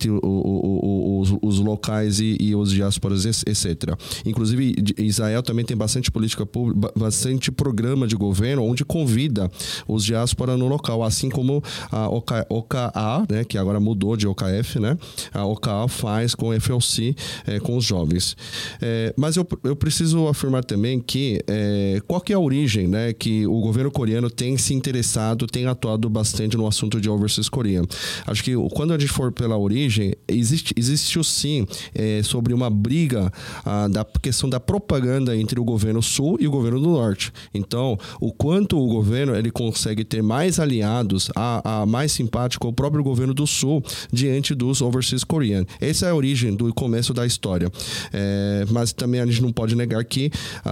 Speaker 2: os locais e os diásporas, etc. Inclusive, Israel também tem bastante política pública, bastante programa de governo onde convida os diásporas no local, assim como a OKA, né, que agora mudou de OKF, né, a OKA faz com o FLC, com os jovens. Mas eu preciso afirmar também que qual que é a origem, né, que o governo coreano tem se interessado, tem atuado bastante no assunto de Overseas Korea. Acho que quando a gente for pela origem, existe sim sobre uma briga da questão da propaganda entre o governo sul e o governo do norte. Então, o quanto o governo ele consegue ter mais aliados, mais simpático ao próprio governo do sul diante dos Overseas Korean. Essa é a origem do começo da história. Mas também a gente não pode negar que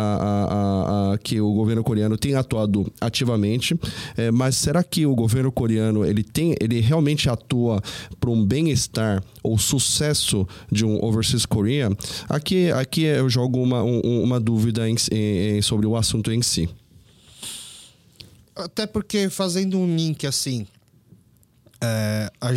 Speaker 2: o governo coreano tem atuado ativamente. Mas será que o governo coreano ele realmente atua para um bem-estar ou sucesso de um Overseas Korea? Aqui eu jogo uma dúvida sobre o assunto em si.
Speaker 1: Até porque, fazendo um link assim, a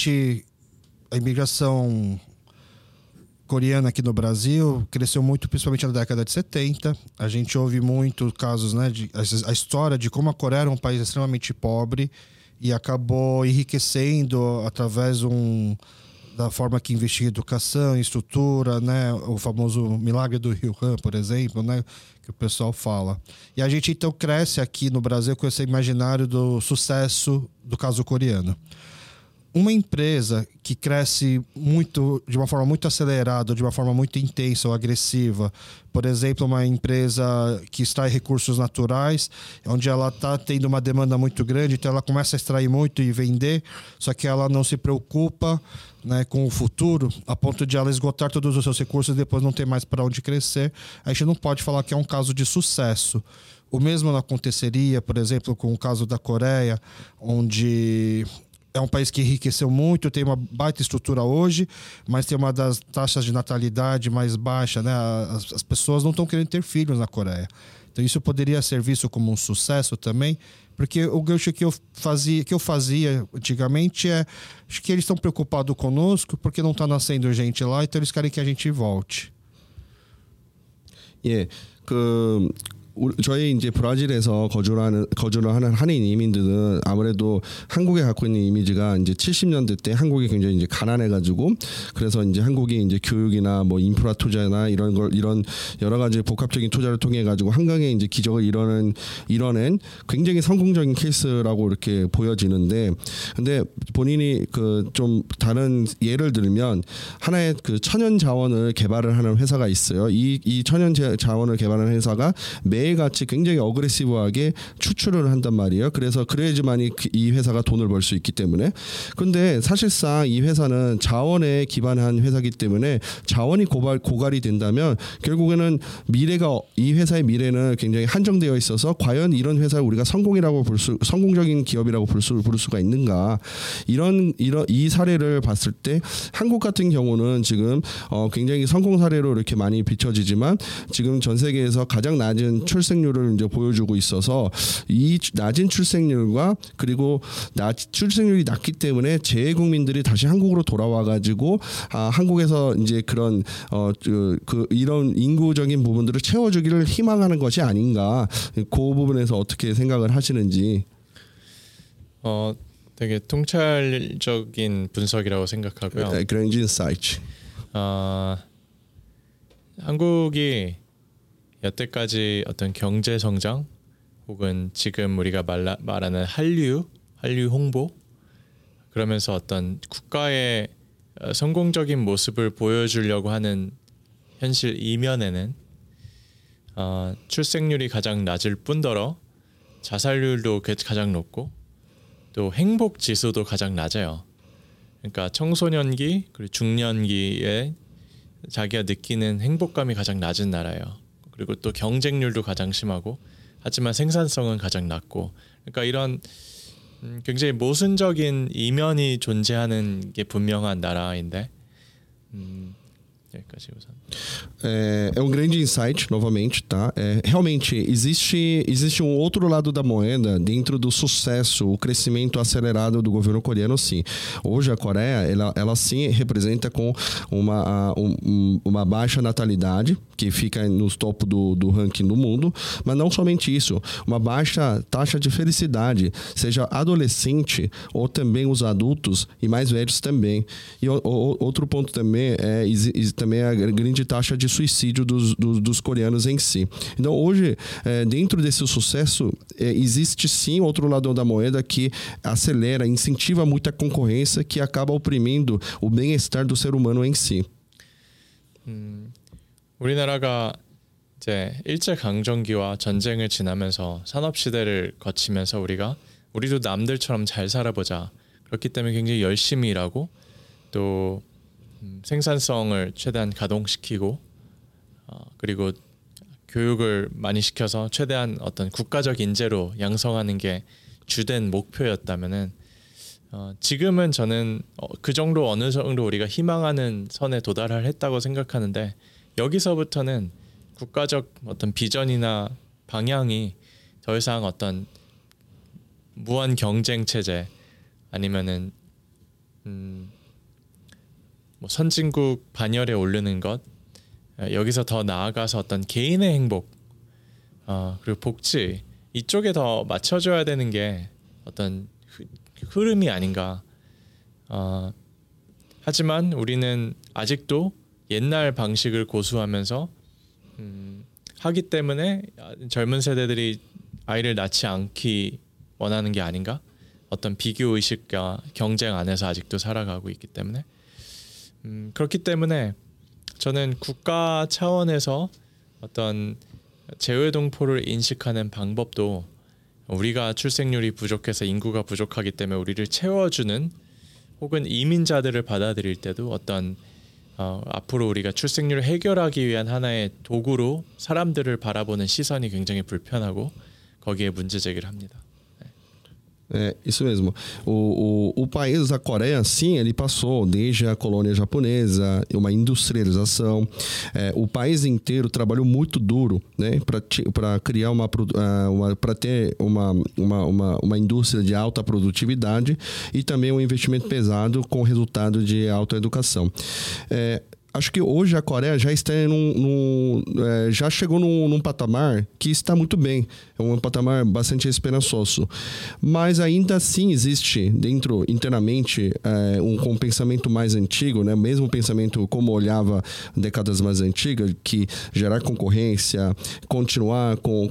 Speaker 1: imigração coreana aqui no Brasil cresceu muito, principalmente na década de 70. A gente ouve muito casos, né, a história de como a Coreia era um país extremamente pobre e acabou enriquecendo através da forma que investia em educação, em estrutura, né? O famoso milagre do Rio Han, por exemplo, né? Que o pessoal fala. E a gente então cresce aqui no Brasil com esse imaginário do sucesso do caso coreano. Uma empresa que cresce muito, de uma forma muito acelerada, de uma forma muito intensa ou agressiva, por exemplo, uma empresa que extrai recursos naturais, onde ela está tendo uma demanda muito grande, então ela começa a extrair muito e vender, só que ela não se preocupa, né, com o futuro, a ponto de ela esgotar todos os seus recursos e depois não ter mais para onde crescer. A gente não pode falar que é um caso de sucesso. O mesmo não aconteceria, por exemplo, com o caso da Coreia, onde é um país que enriqueceu muito, tem uma baita estrutura hoje, mas tem uma das taxas de natalidade mais baixa, né? As pessoas não estão querendo ter filhos na Coreia. Então isso poderia ser visto como um sucesso também, porque o gancho que eu fazia antigamente acho que eles estão preocupados conosco porque não está nascendo gente lá, então eles querem que a gente volte.
Speaker 2: 저희 이제 브라질에서 거주를 하는 한인 이민들은 아무래도 한국에 갖고 있는 이미지가 이제 70년대 때 한국이 굉장히 이제 가난해가지고 그래서 이제 한국이 이제 교육이나 뭐 인프라 투자나 이런 여러 가지 복합적인 투자를 통해 가지고 한강의 이제 기적을 이뤄낸 굉장히 성공적인 케이스라고 이렇게 보여지는데, 근데 본인이 좀 다른 예를 들면 하나의 천연 자원을 개발을 하는 회사가 있어요. 이 천연 자원을 개발하는 회사가 매일같이 굉장히 어그레시브하게 추출을 한단 말이에요. 그래야지만이 이 회사가 돈을 벌 수 있기 때문에. 근데 사실상 이 회사는 자원에 기반한 회사이기 때문에 자원이 고갈이 된다면 결국에는 이 회사의 미래는 굉장히 한정되어 있어서 과연 이런 회사를 우리가 성공적인 기업이라고 부를 수가 있는가? 이 사례를 봤을 때 한국 같은 경우는 지금 굉장히 성공 사례로 이렇게 많이 비춰지지만 지금 전 세계에서 가장 낮은 출생률을 이제 보여주고 있어서 이 낮은 출생률과 그리고 출생률이 낮기 때문에 재외국민들이 다시 한국으로 돌아와 가지고 한국에서 이제 그런 이런 인구적인 부분들을 채워주기를 희망하는 것이 아닌가, 그 부분에서 어떻게 생각을 하시는지.
Speaker 3: 되게 통찰적인 분석이라고 생각하고요.
Speaker 2: Grand insight.
Speaker 3: 한국이 여태까지 어떤 경제 성장 혹은 지금 우리가 말하는 한류 홍보, 그러면서 어떤 국가의 성공적인 모습을 보여주려고 하는 현실 이면에는 출생률이 가장 낮을 뿐더러 자살률도 가장 높고 또 행복 지수도 가장 낮아요. 그러니까 청소년기 그리고 중년기에 자기가 느끼는 행복감이 가장 낮은 나라예요. 그리고 또 경쟁률도 가장 심하고 하지만 생산성은 가장 낮고 그러니까 이런 굉장히 mosun적인 이면이 존재하는 게 분명한 나라인데 여기까지 우선.
Speaker 2: É um grande insight, novamente, tá? Realmente, existe um outro lado da moeda dentro do sucesso, o crescimento acelerado do governo coreano, sim. Hoje a Coreia, ela sim representa com uma baixa natalidade, que fica no topo do ranking do mundo, mas não somente isso, uma baixa taxa de felicidade, seja adolescente ou também os adultos e mais velhos também. E outro ponto também também a grande taxa de suicídio dos coreanos em si. Então, hoje, dentro desse sucesso, existe sim outro lado da moeda que acelera, incentiva muita concorrência que acaba oprimindo o bem-estar do ser humano em si.
Speaker 3: 우리나라가 이제 일제 강점기와 전쟁을 지나면서 산업 시대를 거치면서 우리도 남들처럼 잘 살아보자. 그렇기 때문에 굉장히 열심히 일하고 또 생산성을 최대한 가동시키고 그리고 교육을 많이 시켜서 최대한 어떤 국가적 인재로 양성하는 게 주된 목표였다면은 지금은 저는 그 정도 어느 정도 우리가 희망하는 선에 도달을 했다고 생각하는데 여기서부터는 국가적 어떤 비전이나 방향이 더 이상 어떤 무한 경쟁 체제 아니면은 뭐 선진국 반열에 오르는 것 여기서 더 나아가서 어떤 개인의 행복 그리고 복지 이쪽에 더 맞춰줘야 되는 게 어떤 흐름이 아닌가. 하지만 우리는 아직도 옛날 방식을 고수하면서 하기 때문에 젊은 세대들이 아이를 낳지 않기 원하는 게 아닌가. 어떤 비교 의식과 경쟁 안에서 아직도 살아가고 있기 때문에 그렇기 때문에 저는 국가 차원에서 어떤 재외동포를 인식하는 방법도 우리가 출생률이 부족해서 인구가 부족하기 때문에 우리를 채워주는 혹은 이민자들을 받아들일 때도 어떤 앞으로 우리가 출생률을 해결하기 위한 하나의 도구로 사람들을 바라보는 시선이 굉장히 불편하고 거기에 문제 제기를 합니다.
Speaker 2: É, isso mesmo. O país, a Coreia, sim, ele passou desde a colônia japonesa, uma industrialização. O país inteiro trabalhou muito duro, né, para criar para ter uma indústria de alta produtividade e também um investimento pesado com resultado de alta educação. Acho que hoje a Coreia já está já chegou num patamar que está muito bem. É um patamar bastante esperançoso. Mas ainda assim existe dentro, internamente, um pensamento mais antigo, né? Mesmo pensamento como olhava décadas mais antigas, que gerar concorrência, continuar com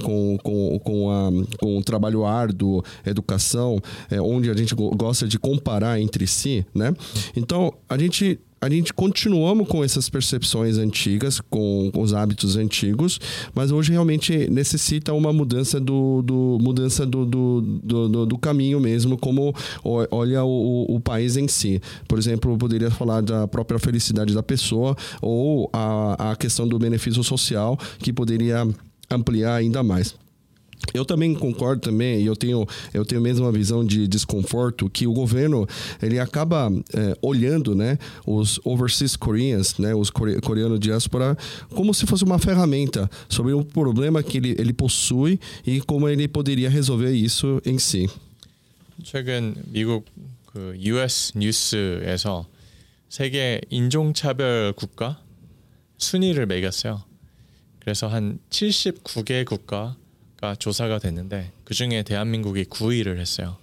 Speaker 2: o trabalho árduo, educação, onde a gente gosta de comparar entre si, né? Então, a gente continuamos com essas percepções antigas, com os hábitos antigos, mas hoje realmente necessita uma mudança do caminho mesmo, como olha o país em si. Por exemplo, eu poderia falar da própria felicidade da pessoa ou a questão do benefício social, que poderia ampliar ainda mais. Eu também concordo também, e eu tenho mesmo uma visão de desconforto que o governo ele acaba olhando, né, os overseas Koreans, né, os coreanos diáspora, como se fosse uma ferramenta sobre o problema que ele possui e como ele poderia resolver isso em si.
Speaker 3: 최근 미국 그 US 뉴스에서 세계 인종차별 국가 순위를 매겼어요. 그래서 한 79개 국가 조사가 됐는데 그 중에 대한민국이 9위를 했어요.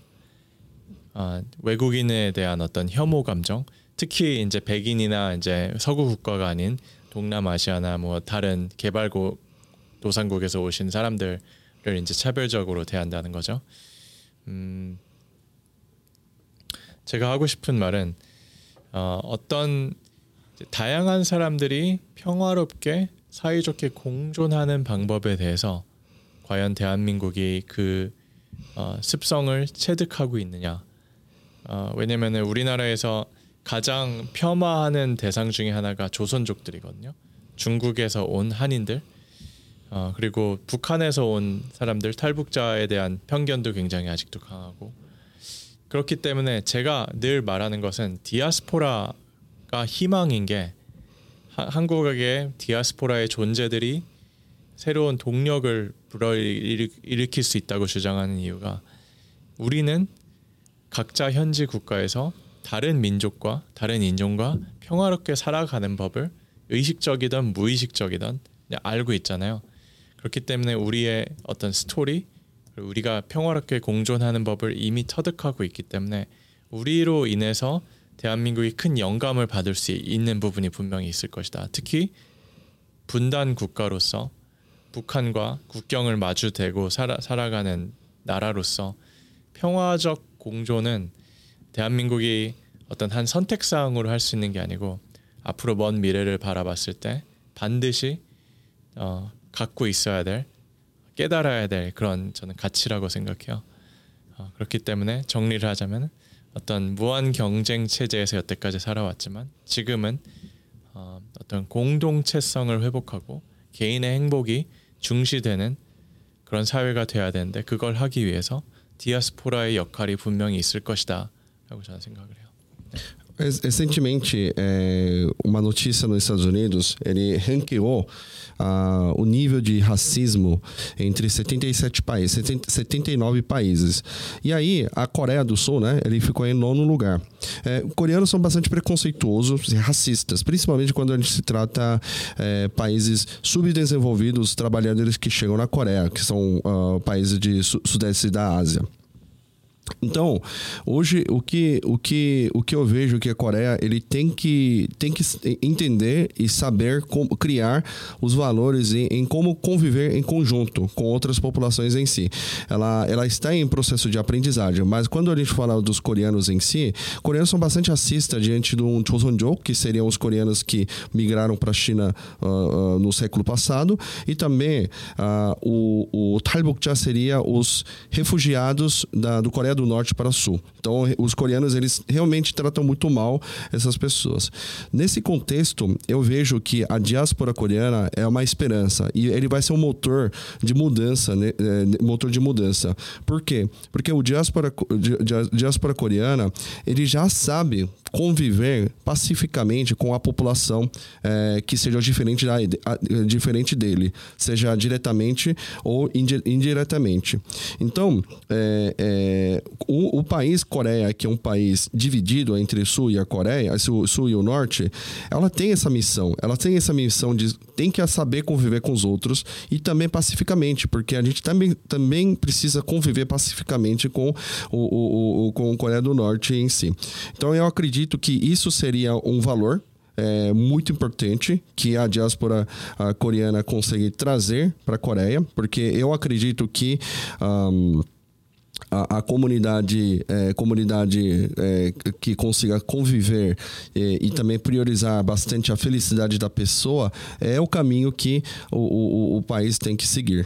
Speaker 3: 외국인에 대한 어떤 혐오 감정, 특히 이제 백인이나 이제 서구 국가가 아닌 동남아시아나 뭐 다른 개발도상국에서 오신 사람들을 이제 차별적으로 대한다는 거죠. 제가 하고 싶은 말은 어떤 다양한 사람들이 평화롭게 사이좋게 공존하는 방법에 대해서 과연 대한민국이 그 습성을 체득하고 있느냐. 왜냐하면 우리나라에서 가장 폄하하는 대상 중에 하나가 조선족들이거든요. 중국에서 온 한인들, 그리고 북한에서 온 사람들, 탈북자에 대한 편견도 굉장히 아직도 강하고, 그렇기 때문에 제가 늘 말하는 것은 디아스포라가 희망인 게, 한국의 디아스포라의 존재들이 새로운 동력을 불러일으킬 수 있다고 주장하는 이유가, 우리는 각자 현지 국가에서 다른 민족과 다른 인종과 평화롭게 살아가는 법을 의식적이든 무의식적이든 그냥 알고 있잖아요. 그렇기 때문에 우리의 어떤 스토리, 우리가 평화롭게 공존하는 법을 이미 터득하고 있기 때문에 우리로 인해서 대한민국이 큰 영감을 받을 수 있는 부분이 분명히 있을 것이다. 특히 분단 국가로서 북한과 국경을 마주대고 살아가는 나라로서 평화적 공존은 대한민국이 어떤 한 선택사항으로 할 수 있는 게 아니고 앞으로 먼 미래를 바라봤을 때 반드시 갖고 있어야 될, 깨달아야 될 그런 저는 가치라고 생각해요. 그렇기 때문에 정리를 하자면 어떤 무한 경쟁 체제에서 여태까지 살아왔지만 지금은 어떤 공동체성을 회복하고 개인의 행복이 중시되는 그런 sa회가 돼야 되는데, 그걸 하기 위해서 디아스포라의 역할이 분명히 있을 것이다 라고 저는 생각을 해요.
Speaker 2: Recentemente, uma notícia nos Estados Unidos, ele ranqueou o nível de racismo entre 77 países, 79 países. E aí, a Coreia do Sul, né, ele ficou em 9º lugar. Coreanos são bastante preconceituosos e racistas, principalmente quando a gente se trata países subdesenvolvidos, trabalhadores que chegam na Coreia, que são países de sudeste da Ásia. Então, hoje o que eu vejo que a Coreia ele tem que entender e saber como criar os valores em como conviver em conjunto com outras populações em si. Ela está em processo de aprendizagem, mas quando a gente fala dos coreanos em si, coreanos são bastante racistas diante de um Joseonjok, que seriam os coreanos que migraram para a China no século passado, e também o 탈북자 seria os refugiados do Coreia do Norte para o Sul. Então, os coreanos, eles realmente tratam muito mal essas pessoas. Nesse contexto, eu vejo que a diáspora coreana é uma esperança e ele vai ser um motor de mudança, né? Por quê? Porque o diáspora coreana, ele já sabe conviver pacificamente com a população que seja diferente dele, seja diretamente ou indiretamente. Então, o país Coreia, que é um país dividido entre o Sul e a Coreia, o Sul e o Norte, ela tem essa missão. Ela tem essa missão de tem que saber conviver com os outros e também pacificamente, porque a gente também precisa conviver pacificamente com o Coreia do Norte em si. Então, eu acredito que isso seria um valor muito importante que a diáspora coreana consegue trazer para a Coreia, porque eu acredito que a comunidade que consiga conviver e também priorizar bastante a felicidade da pessoa é o caminho que o país tem que seguir.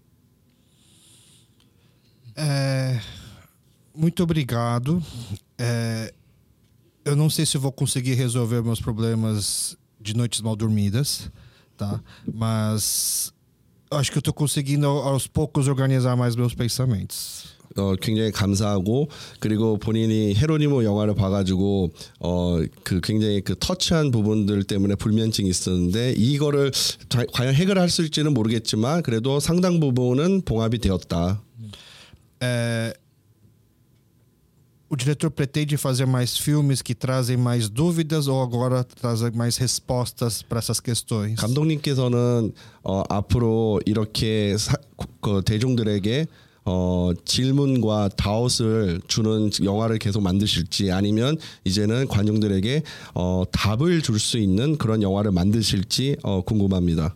Speaker 1: Muito obrigado. Eu não sei se eu vou conseguir resolver meus problemas de noites mal dormidas, tá? Mas acho que eu estou conseguindo aos poucos organizar mais meus pensamentos.
Speaker 2: 굉장히 감사하고, 그리고 본인이 헤로니모 영화를 봐가지고 굉장히 터치한 부분들 때문에 불면증이 있었는데 이거를 과연 해결할 수 있을지는 모르겠지만 그래도 상당 부분은 봉합이 되었다.
Speaker 1: O diretor pretende fazer mais filmes que trazem mais dúvidas ou agora trazem mais respostas para essas questões?
Speaker 2: 감독님께서는 앞으로 이렇게 대중들에게 질문과 다웃을 주는 영화를 계속 만드실지, 아니면 이제는 관중들에게 답을 줄 수 있는 그런 영화를 만드실지 궁금합니다.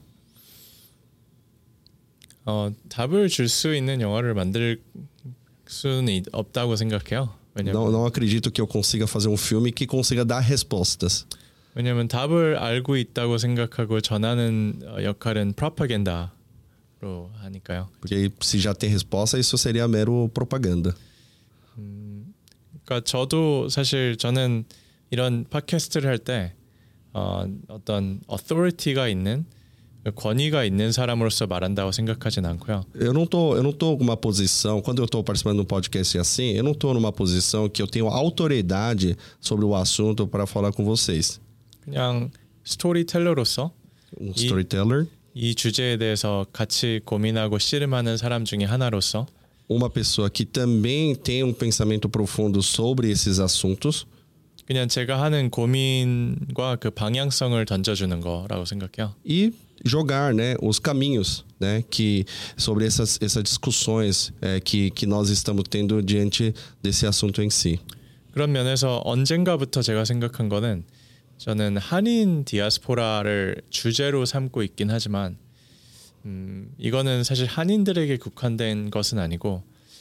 Speaker 3: 답을 줄 수 있는 영화를 만들 수는 없다고 생각해요.
Speaker 2: Não acredito que eu consiga fazer um filme que consiga dar respostas.
Speaker 3: 왜냐하면 답을 알고 있다고 생각하고 전하는 역할은 프로파간다로 하니까요.
Speaker 2: Porque se já tem resposta, isso seria mero propaganda.
Speaker 3: 그러니까 저도 사실 저는 이런 팟캐스트를 할 때 어떤 authority가 있는 권위가 있는 사람으로서 말한다고 생각하진 않고요.
Speaker 2: Eu não tô com uma posição, quando eu estou participando de um podcast assim, eu não estou numa posição que eu tenho autoridade sobre o assunto para falar com vocês.
Speaker 3: 그냥 스토리텔러로서
Speaker 2: Storyteller,
Speaker 3: 이 주제에 대해서 같이 고민하고 씨름하는 사람 중에 하나로서
Speaker 2: uma pessoa que também tem um pensamento profundo sobre esses assuntos.
Speaker 3: 그냥 제가 하는 고민과 그 방향성을 던져주는 거라고 생각해요.
Speaker 2: E jogar, né, os caminhos, né, que sobre essas discussões que nós estamos tendo diante desse assunto em si.
Speaker 3: 그런 면에서 언젠가부터 제가 생각한 거는 저는 한인 디아스포라를 주제로 삼고 있긴 하지만 이거는 사실 한인들에게 국한된 것은 아니고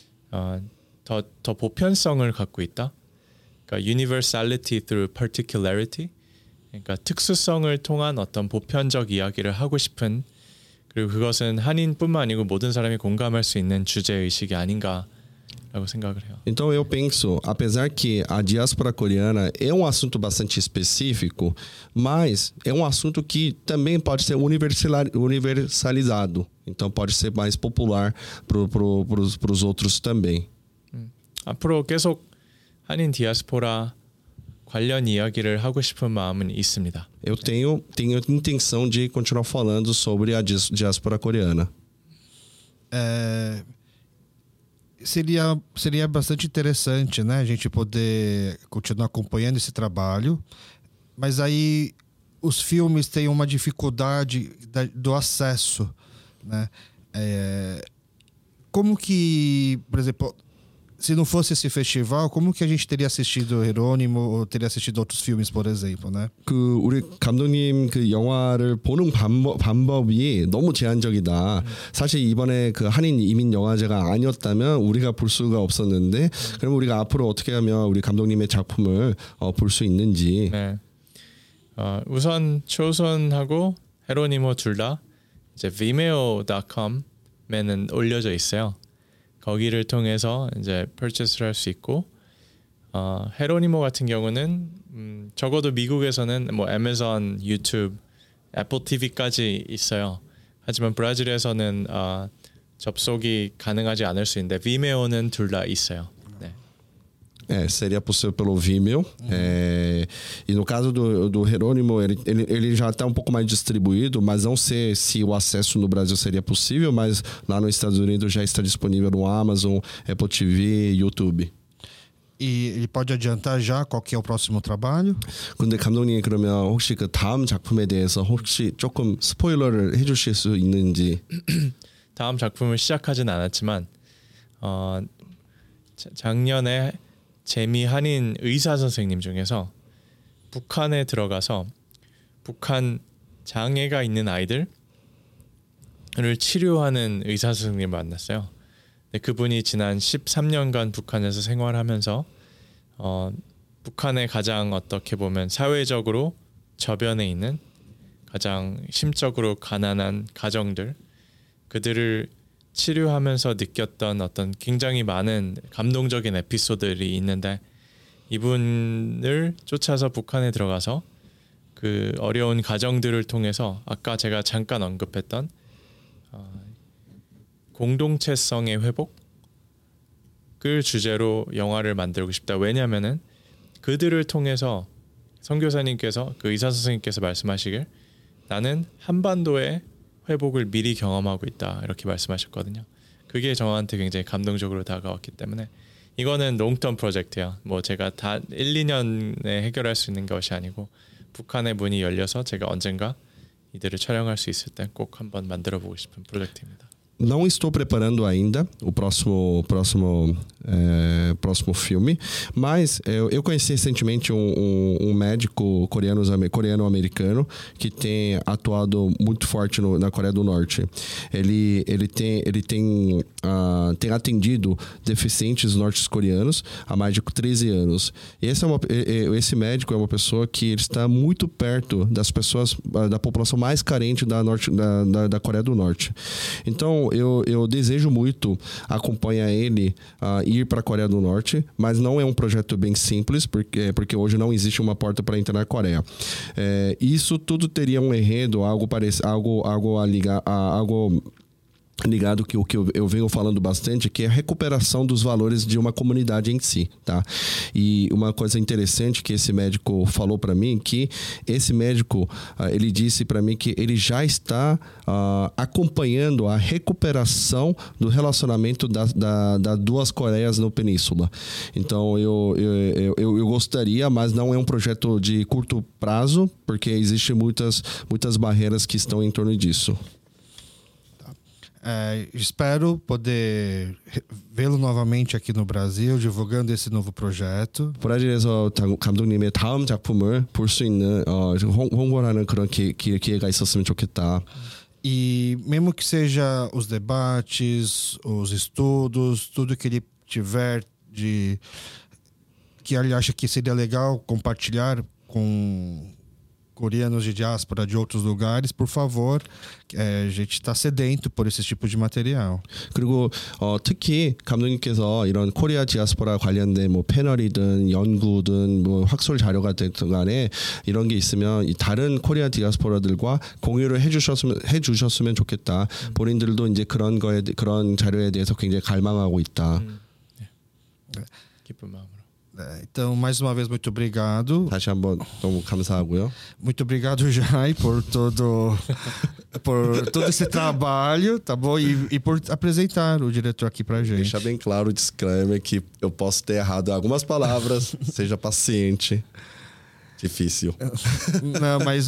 Speaker 3: 더 보편성을 갖고 있다. 그러니까 universality through particularity. 그러니까 특수성을 통한 어떤 보편적 이야기를 하고 싶은 그리고 그것은 한인뿐만 아니고 모든 사람이 공감할 수 있는 주제 의식이 아닌가라고 생각을 해요.
Speaker 2: Então eu penso, apesar que a diáspora coreana é um assunto bastante específico, mas é um assunto que também pode ser universalizado. Então pode ser mais popular para os outros também.
Speaker 3: 앞으로 계속 한인 디아스포라 관련 이야기를 하고 싶은 마음은 있습니다.
Speaker 2: Eu tenho intenção de continuar falando sobre a diáspora coreana.
Speaker 1: Seria bastante interessante, né, a gente poder continuar acompanhando esse trabalho, mas aí os filmes têm uma dificuldade do acesso, né? Como que, por exemplo, se não fosse esse festival, como que a gente teria assistido Jerônimo ou teria assistido outros filmes, por exemplo, né?
Speaker 2: 우리 감독님 그 영화를 보는 방법이 너무 제한적이다. 사실 이번에 그 한인 이민 영화제가 아니었다면 우리가 볼 수가 없었는데, 그럼 우리가 앞으로 어떻게 하면 우리 감독님의 작품을 볼 수 있는지.
Speaker 3: 네. 우선 초선하고 헤로니모 둘 다 이제 vimeo.com에는 올려져 있어요. 거기를 통해서 이제 purchase를 할 수 있고 헤로니모 같은 경우는 적어도 미국에서는 뭐 애마존, 유튜브, 애플 TV까지 있어요. 하지만 브라질에서는 접속이 가능하지 않을 수 있는데 Vimeo는 둘 다 있어요. 네.
Speaker 2: Seria possível pelo Vimeo. E no caso do Jerônimo, ele já está um pouco mais distribuído, mas não sei se o acesso no Brasil seria possível, mas lá nos Estados Unidos já está disponível no Amazon, Apple TV, YouTube.
Speaker 1: E ele pode adiantar já qual que é o próximo trabalho?
Speaker 2: 근데 감독님 그러면 혹시 그 다음 작품에 대해서 혹시 조금 스포일러를 해주실 수 있는지?
Speaker 3: 다음 작품을 시작하진 않았지만 작년에 재미 한인 의사 선생님 중에서 북한에 들어가서 북한 장애가 있는 아이들을 치료하는 의사 선생님을 만났어요. 그분이 지난 13년간 북한에서 생활하면서 북한의 가장 어떻게 보면 사회적으로 저변에 있는 가장 심적으로 가난한 가정들 그들을 치료하면서 느꼈던 어떤 굉장히 많은 감동적인 에피소드들이 있는데 이분을 쫓아서 북한에 들어가서 그 어려운 가정들을 통해서 아까 제가 잠깐 언급했던 공동체성의 회복을 주제로 영화를 만들고 싶다. 왜냐하면은 그들을 통해서 선교사님께서 그 의사 선생님께서 말씀하시길 나는 한반도의 회복을 미리 경험하고 있다 이렇게 말씀하셨거든요. 그게 저한테 굉장히 감동적으로 다가왔기 때문에 이거는 롱텀 프로젝트야. 뭐 제가 다 1, 2년에 해결할 수 있는 것이 아니고 북한의 문이 열려서 제가 언젠가 이들을 촬영할 수 있을 때 꼭 한번 만들어보고 싶은 프로젝트입니다.
Speaker 2: Não estou preparando ainda o próximo filme, mas eu conheci recentemente um médico coreano-americano que tem atuado muito forte na Coreia do Norte. Ele tem atendido deficientes norte-coreanos há mais de 13 anos. E esse médico é uma pessoa que está muito perto das pessoas, da população mais carente da Coreia do Norte. Então Então eu desejo muito acompanhar ele ir para a Coreia do Norte, mas não é um projeto bem simples, porque hoje não existe uma porta para entrar na Coreia. Isso tudo teria um enredo, algo a ligar, algo ligado que o que eu venho falando bastante, que é a recuperação dos valores de uma comunidade em si, tá? E uma coisa interessante que esse médico falou para mim, que esse médico ele disse para mim que ele já está acompanhando a recuperação do relacionamento das duas Coreias no Península. Então eu gostaria, mas não é um projeto de curto prazo, porque existem muitas barreiras que estão em torno disso.
Speaker 1: Espero poder vê-lo novamente aqui no Brasil divulgando esse novo projeto.
Speaker 2: 브라질에서 감독님의 다음 작품을 볼 수 있는 홍보를 하는 그런 기회가 있었으면 좋겠다.
Speaker 1: E mesmo que seja os debates, os estudos, tudo que ele tiver que ele acha que seria legal compartilhar com coreanos de diáspora de outros lugares, por favor, a gente está sedento por esse tipo de material.
Speaker 2: 그리고 특히 감독님께서 이런 코리아 디아스포라 관련된 뭐 패널이든 연구든 뭐 학술 자료가 됐든 간에 이런 게 있으면 다른 코리아 디아스포라들과 공유를 해주셨으면 좋겠다. 본인들도 이제 그런 자료에 대해서 굉장히 갈망하고 있다.
Speaker 3: 기쁜 마음으로.
Speaker 1: Então, mais uma vez, muito obrigado.
Speaker 2: 다시 한번 너무 감사하고요.
Speaker 1: Muito obrigado, Jai, por todo esse trabalho, tá bom? E por apresentar o diretor aqui pra gente.
Speaker 2: Deixar bem claro o disclaimer que eu posso ter errado algumas palavras, seja paciente. Difícil.
Speaker 1: Não, mas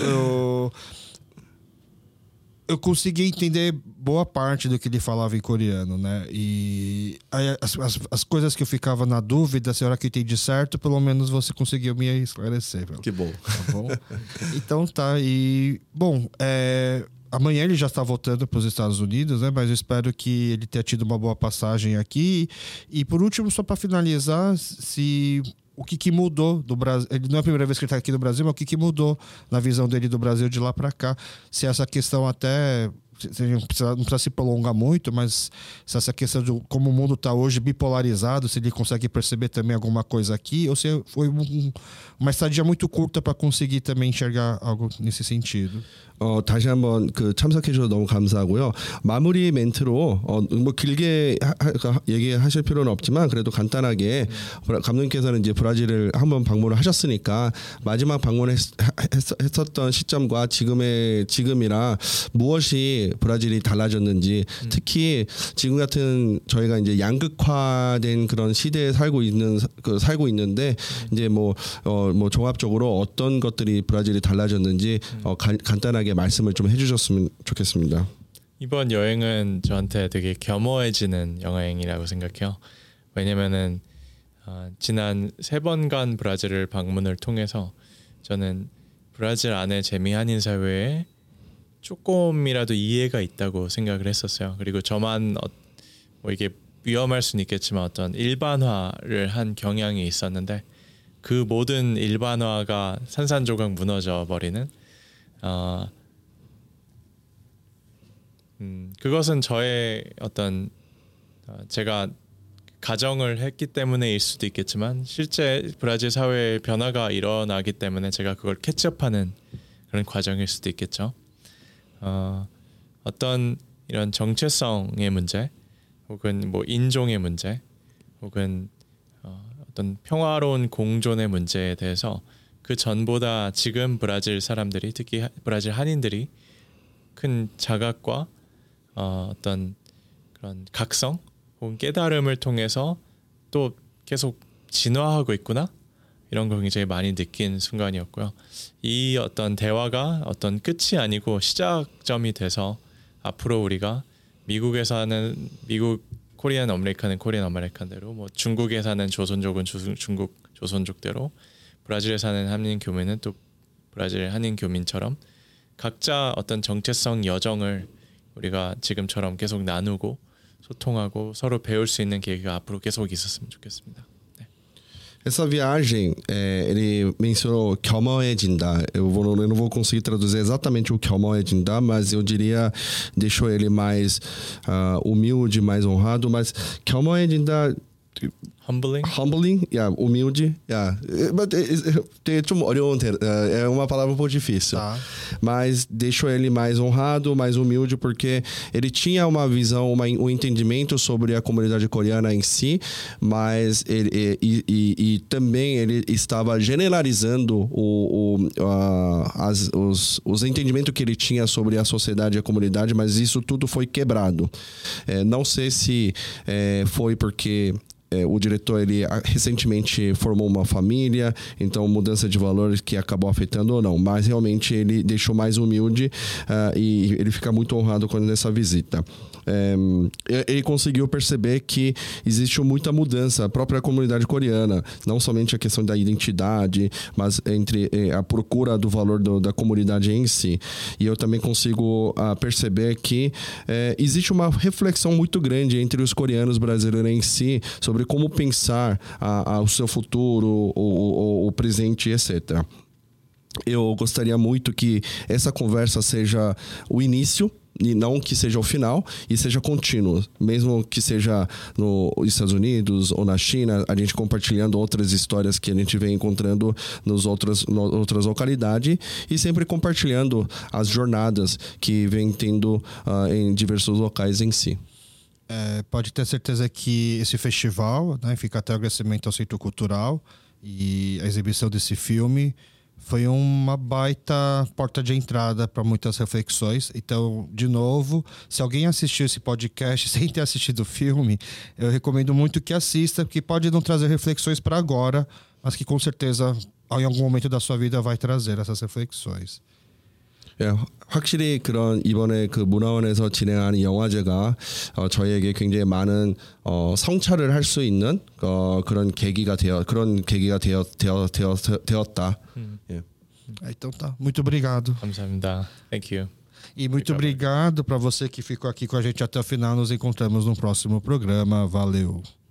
Speaker 1: eu consegui entender boa parte do que ele falava em coreano, né? E aí, as coisas que eu ficava na dúvida, se a hora que eu entendi certo, pelo menos você conseguiu me esclarecer.
Speaker 2: Que bom.
Speaker 1: Tá bom? Então tá. E, bom, amanhã ele já está voltando para os Estados Unidos, né? Mas eu espero que ele tenha tido uma boa passagem aqui. E por último, só para finalizar, o que mudou do Brasil? Ele não é a primeira vez que ele está aqui no Brasil, mas o que mudou na visão dele do Brasil de lá para cá? Se essa questão até não precisa se prolongar muito, mas se essa questão de como o mundo está hoje bipolarizado, se ele consegue perceber também alguma coisa aqui, ou se foi uma estadia muito curta para conseguir também enxergar algo nesse sentido.
Speaker 2: 다시 한번 참석해 주셔서 너무 감사하고요. 마무리 멘트로 뭐 길게 얘기하실 필요는 없지만 그래도 간단하게 감독님께서는 이제 브라질을 한번 방문을 하셨으니까 마지막 방문했었던 시점과 지금이랑 무엇이 브라질이 달라졌는지 특히 지금 같은 저희가 이제 양극화된 그런 시대에 살고 있는데 이제 뭐 종합적으로 어떤 것들이 브라질이 달라졌는지 간단하게 말씀을 좀 해주셨으면 좋겠습니다.
Speaker 3: 이번 여행은 저한테 되게 겸허해지는 여행이라고 생각해요. 왜냐면은 지난 3번간 브라질을 방문을 통해서 저는 브라질 안에 재미 한인 사회에 조금이라도 이해가 있다고 생각을 했었어요. 그리고 저만 뭐 이게 위험할 수는 있겠지만 어떤 일반화를 한 경향이 있었는데 그 모든 일반화가 산산조각 무너져 버리는 그것은 저의 어떤 제가 가정을 했기 때문에일 수도 있겠지만 실제 브라질 사회의 변화가 일어나기 때문에 제가 그걸 캐치업하는 그런 과정일 수도 있겠죠. 어떤 이런 정체성의 문제 혹은 뭐 인종의 문제 혹은 어떤 평화로운 공존의 문제에 대해서 그 전보다 지금 브라질 사람들이 특히 브라질 한인들이 큰 자각과 어떤 그런 각성 혹은 깨달음을 통해서 또 계속 진화하고 있구나 이런 걸 굉장히 많이 느낀 순간이었고요. 이 어떤 대화가 어떤 끝이 아니고 시작점이 돼서 앞으로 우리가 미국에서 하는 미국 코리안 아메리칸은 코리안 아메리칸대로 뭐 중국에 사는 조선족은 중국 조선족대로 브라질에 사는 한인 교민은 또 브라질 한인 교민처럼 각자 어떤 정체성 여정을 우리가 지금처럼 계속 나누고 소통하고 서로 배울 수 있는 계기가 앞으로 계속 있었으면 좋겠습니다. 네.
Speaker 2: Essa viagem, ele mencionou 겸허해진다. Eu não vou conseguir traduzir exatamente o 겸허해진다, mas eu diria, deixou ele mais humilde, mais honrado, mas 겸허해진다...
Speaker 3: Humbling,
Speaker 2: humilde, 좀 어려운 é uma palavra um pouco difícil, mas deixou ele mais honrado, mais humilde, porque ele tinha uma visão, um entendimento sobre a comunidade coreana em si, mas ele também ele estava generalizando os entendimentos que ele tinha sobre a sociedade e a comunidade, mas isso tudo foi quebrado. Não sei se foi porque o diretor ele recentemente formou uma família, então mudança de valores que acabou afetando ou não, mas realmente ele deixou mais humilde e ele fica muito honrado quando nessa visita. Ele conseguiu perceber que existe muita mudança a própria comunidade coreana, não somente a questão da identidade, mas entre a procura do valor da comunidade em si. E eu também consigo perceber que existe uma reflexão muito grande entre os coreanos brasileiros em si sobre como pensar o seu futuro, o presente, etc. Eu gostaria muito que essa conversa seja o início e não que seja o final, e seja contínuo, mesmo que seja nos Estados Unidos ou na China, a gente compartilhando outras histórias que a gente vem encontrando nas outras localidades e sempre compartilhando as jornadas que vem tendo em diversos locais em si.
Speaker 1: Pode ter certeza que esse festival, né, fica até o agradecimento ao Centro Cultural e a exibição desse filme foi uma baita porta de entrada para muitas reflexões. Então, de novo, se alguém assistiu esse podcast sem ter assistido o filme, eu recomendo muito que assista, porque pode não trazer reflexões para agora, mas que com certeza em algum momento da sua vida vai trazer essas reflexões.
Speaker 2: 확실히 그런 이번에 그 문화원에서 진행하는 영화제가 저희에게 굉장히 많은 성찰을 할 수 있는 그런 계기가 되었다.
Speaker 1: Então tá. Muito obrigado.
Speaker 3: 감사합니다. Thank you.
Speaker 1: E muito obrigado para você que ficou aqui com a gente até o final. Nos encontramos no próximo programa. Valeu.